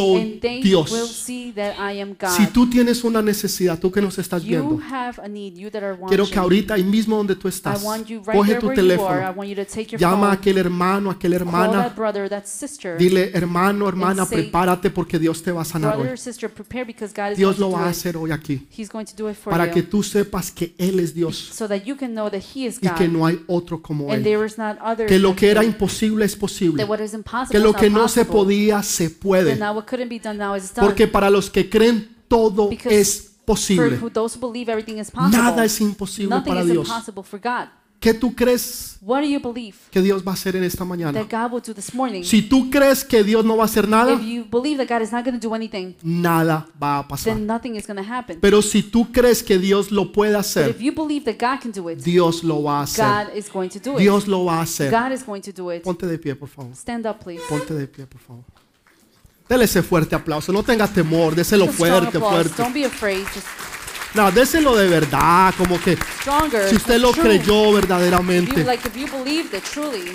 Speaker 1: soy
Speaker 2: And they will
Speaker 1: Dios.
Speaker 2: see that I am God.
Speaker 1: Si tú tienes una necesidad, tú que nos estás
Speaker 2: You
Speaker 1: viendo,
Speaker 2: have a need, you that are
Speaker 1: quiero
Speaker 2: watching.
Speaker 1: que ahorita, ahí mismo donde tú
Speaker 2: I
Speaker 1: estás,
Speaker 2: want you right
Speaker 1: coge
Speaker 2: there
Speaker 1: tu
Speaker 2: where you are. I
Speaker 1: teléfono,
Speaker 2: want you to take your
Speaker 1: llama a
Speaker 2: phone,
Speaker 1: aquel hermano, a aquella
Speaker 2: call
Speaker 1: hermana,
Speaker 2: that brother, that sister,
Speaker 1: dile, hermano, hermana,
Speaker 2: and say,
Speaker 1: prepárate porque Dios te va a sanar
Speaker 2: brother
Speaker 1: hoy.
Speaker 2: or sister, prepare because God is
Speaker 1: Dios
Speaker 2: going
Speaker 1: lo
Speaker 2: to
Speaker 1: va
Speaker 2: do
Speaker 1: a
Speaker 2: it.
Speaker 1: hacer hoy aquí,
Speaker 2: He's going to do it for
Speaker 1: para que
Speaker 2: you,
Speaker 1: tú sepas que Él es Dios
Speaker 2: so that you can know that He is
Speaker 1: y que
Speaker 2: God,
Speaker 1: no hay otro como
Speaker 2: and
Speaker 1: Él.
Speaker 2: there is not other
Speaker 1: Que lo
Speaker 2: than
Speaker 1: que era
Speaker 2: Him.
Speaker 1: imposible es posible.
Speaker 2: That what is impossible
Speaker 1: Que lo
Speaker 2: is
Speaker 1: que
Speaker 2: not
Speaker 1: no se
Speaker 2: possible.
Speaker 1: podía se
Speaker 2: That
Speaker 1: puede.
Speaker 2: now what couldn't be done now is done.
Speaker 1: Porque para los que creen todo
Speaker 2: Because
Speaker 1: es posible.
Speaker 2: For those who believe everything is possible.
Speaker 1: Nada es imposible
Speaker 2: Nothing
Speaker 1: para
Speaker 2: is
Speaker 1: Dios.
Speaker 2: impossible for God.
Speaker 1: ¿Qué tú crees
Speaker 2: What do you believe
Speaker 1: que Dios va a hacer en esta mañana?
Speaker 2: that God will do this morning?
Speaker 1: Si tú crees que Dios no va a hacer nada,
Speaker 2: If you believe that God is not going to do anything,
Speaker 1: nada va a pasar.
Speaker 2: then nothing is going to happen.
Speaker 1: Pero si tú crees que Dios lo puede
Speaker 2: But
Speaker 1: hacer,
Speaker 2: if you believe that God can do it,
Speaker 1: Dios lo va a hacer.
Speaker 2: God is going to do it.
Speaker 1: Dios lo va a hacer.
Speaker 2: God is going to do it.
Speaker 1: Ponte de pie, por favor.
Speaker 2: Stand up, please.
Speaker 1: Ponte de pie, por favor. Dele ese fuerte aplauso. No tengas temor. Déselo
Speaker 2: Just a strong
Speaker 1: fuerte,
Speaker 2: applause.
Speaker 1: fuerte.
Speaker 2: Don't be afraid. Just
Speaker 1: No, déselo de verdad. Como que
Speaker 2: stronger.
Speaker 1: si usted lo
Speaker 2: True.
Speaker 1: creyó
Speaker 2: If you,
Speaker 1: verdaderamente.
Speaker 2: if you believed it truly,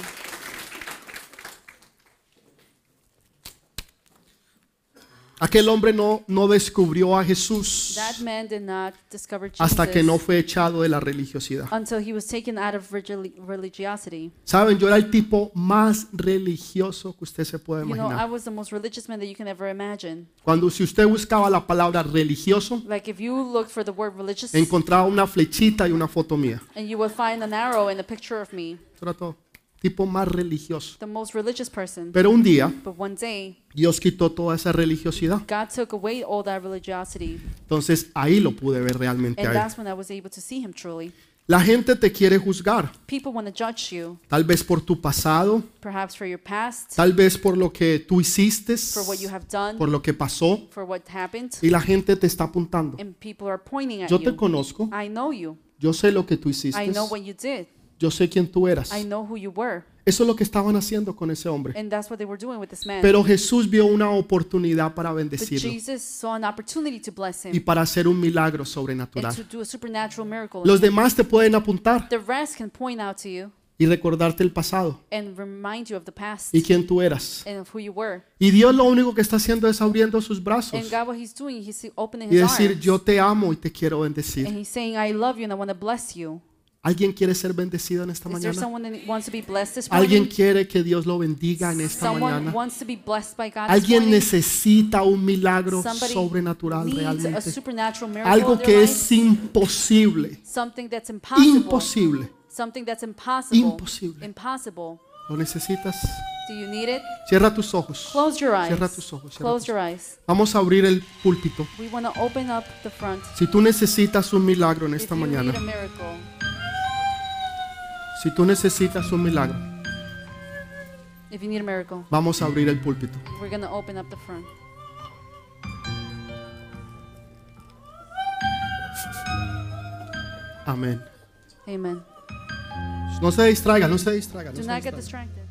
Speaker 1: Aquel hombre no descubrió a Jesús
Speaker 2: that man did not discover Jesus
Speaker 1: hasta que no fue echado de la religiosidad.
Speaker 2: until he was taken out of religiosity.
Speaker 1: Saben, yo era el tipo más religioso que usted se puede
Speaker 2: You know, I
Speaker 1: imaginar.
Speaker 2: was the most religious man that you can ever imagine.
Speaker 1: Cuando si usted buscaba la palabra religioso,
Speaker 2: Like if you looked for the word religious,
Speaker 1: encontraba una flechita y una foto mía.
Speaker 2: and you would find an arrow and a picture of me,
Speaker 1: Eso era todo. Tipo más religioso.
Speaker 2: the most religious person.
Speaker 1: Pero un día
Speaker 2: But one day,
Speaker 1: Dios quitó toda esa religiosidad.
Speaker 2: God took away all that religiosity,
Speaker 1: Entonces ahí lo pude ver realmente
Speaker 2: and
Speaker 1: a él.
Speaker 2: that's when I was able to see him truly.
Speaker 1: La gente te quiere juzgar,
Speaker 2: People want to judge you,
Speaker 1: tal vez por tu pasado,
Speaker 2: perhaps for your past,
Speaker 1: tal vez por lo que tú hiciste,
Speaker 2: for what you have done,
Speaker 1: por lo que pasó,
Speaker 2: for what happened,
Speaker 1: y la gente te está apuntando.
Speaker 2: and people are pointing at
Speaker 1: Yo te
Speaker 2: you.
Speaker 1: conozco,
Speaker 2: I know you.
Speaker 1: yo sé lo que tú hiciste,
Speaker 2: I know what you did.
Speaker 1: yo sé quién tú eras.
Speaker 2: I know who you were.
Speaker 1: Eso es lo que estaban haciendo con ese hombre.
Speaker 2: And that's what they were doing with this man.
Speaker 1: Pero Jesús vio una oportunidad para
Speaker 2: But
Speaker 1: bendecirlo
Speaker 2: Jesus saw an opportunity to bless
Speaker 1: y
Speaker 2: him
Speaker 1: para hacer un milagro
Speaker 2: and
Speaker 1: sobrenatural.
Speaker 2: to do a supernatural miracle.
Speaker 1: Los demás te pueden apuntar
Speaker 2: The rest can point out to you
Speaker 1: y recordarte el pasado
Speaker 2: and remind you of the past
Speaker 1: y quién tú eras.
Speaker 2: and of who you were.
Speaker 1: Y Dios lo único que está haciendo es abriendo sus brazos
Speaker 2: And God, what He's doing, He's opening
Speaker 1: y
Speaker 2: His
Speaker 1: decir,
Speaker 2: arms.
Speaker 1: yo te amo y te quiero bendecir.
Speaker 2: And He's saying, I love you and I want to bless you.
Speaker 1: ¿Alguien quiere ser bendecido en esta
Speaker 2: Is there
Speaker 1: mañana?
Speaker 2: someone that wants to be blessed this
Speaker 1: ¿Alguien
Speaker 2: morning?
Speaker 1: quiere que Dios lo bendiga en esta
Speaker 2: Someone
Speaker 1: mañana?
Speaker 2: wants to be blessed by God this
Speaker 1: ¿Alguien
Speaker 2: morning?
Speaker 1: necesita un milagro
Speaker 2: Somebody
Speaker 1: sobrenatural
Speaker 2: needs a
Speaker 1: realmente?
Speaker 2: supernatural miracle
Speaker 1: Algo
Speaker 2: in
Speaker 1: que
Speaker 2: their
Speaker 1: es
Speaker 2: life.
Speaker 1: imposible,
Speaker 2: Something that's impossible.
Speaker 1: imposible.
Speaker 2: Something that's impossible.
Speaker 1: Imposible.
Speaker 2: Impossible.
Speaker 1: ¿Lo necesitas?
Speaker 2: Do you need it?
Speaker 1: Cierra tus ojos.
Speaker 2: Close your eyes.
Speaker 1: Cierra tus ojos. Cierra
Speaker 2: Close
Speaker 1: tus
Speaker 2: your
Speaker 1: ojos.
Speaker 2: eyes.
Speaker 1: Vamos a abrir el púlpito.
Speaker 2: We want to open up the front.
Speaker 1: Si tú necesitas un milagro en
Speaker 2: If
Speaker 1: esta
Speaker 2: you
Speaker 1: mañana,
Speaker 2: need a miracle,
Speaker 1: si tú necesitas un milagro,
Speaker 2: if you need a miracle,
Speaker 1: vamos a abrir el púlpito.
Speaker 2: we're going to open up the front.
Speaker 1: Amén.
Speaker 2: Amen.
Speaker 1: No se distraigan, no se distraigan.
Speaker 2: Do
Speaker 1: No se
Speaker 2: not get
Speaker 1: distraigan.
Speaker 2: distracted.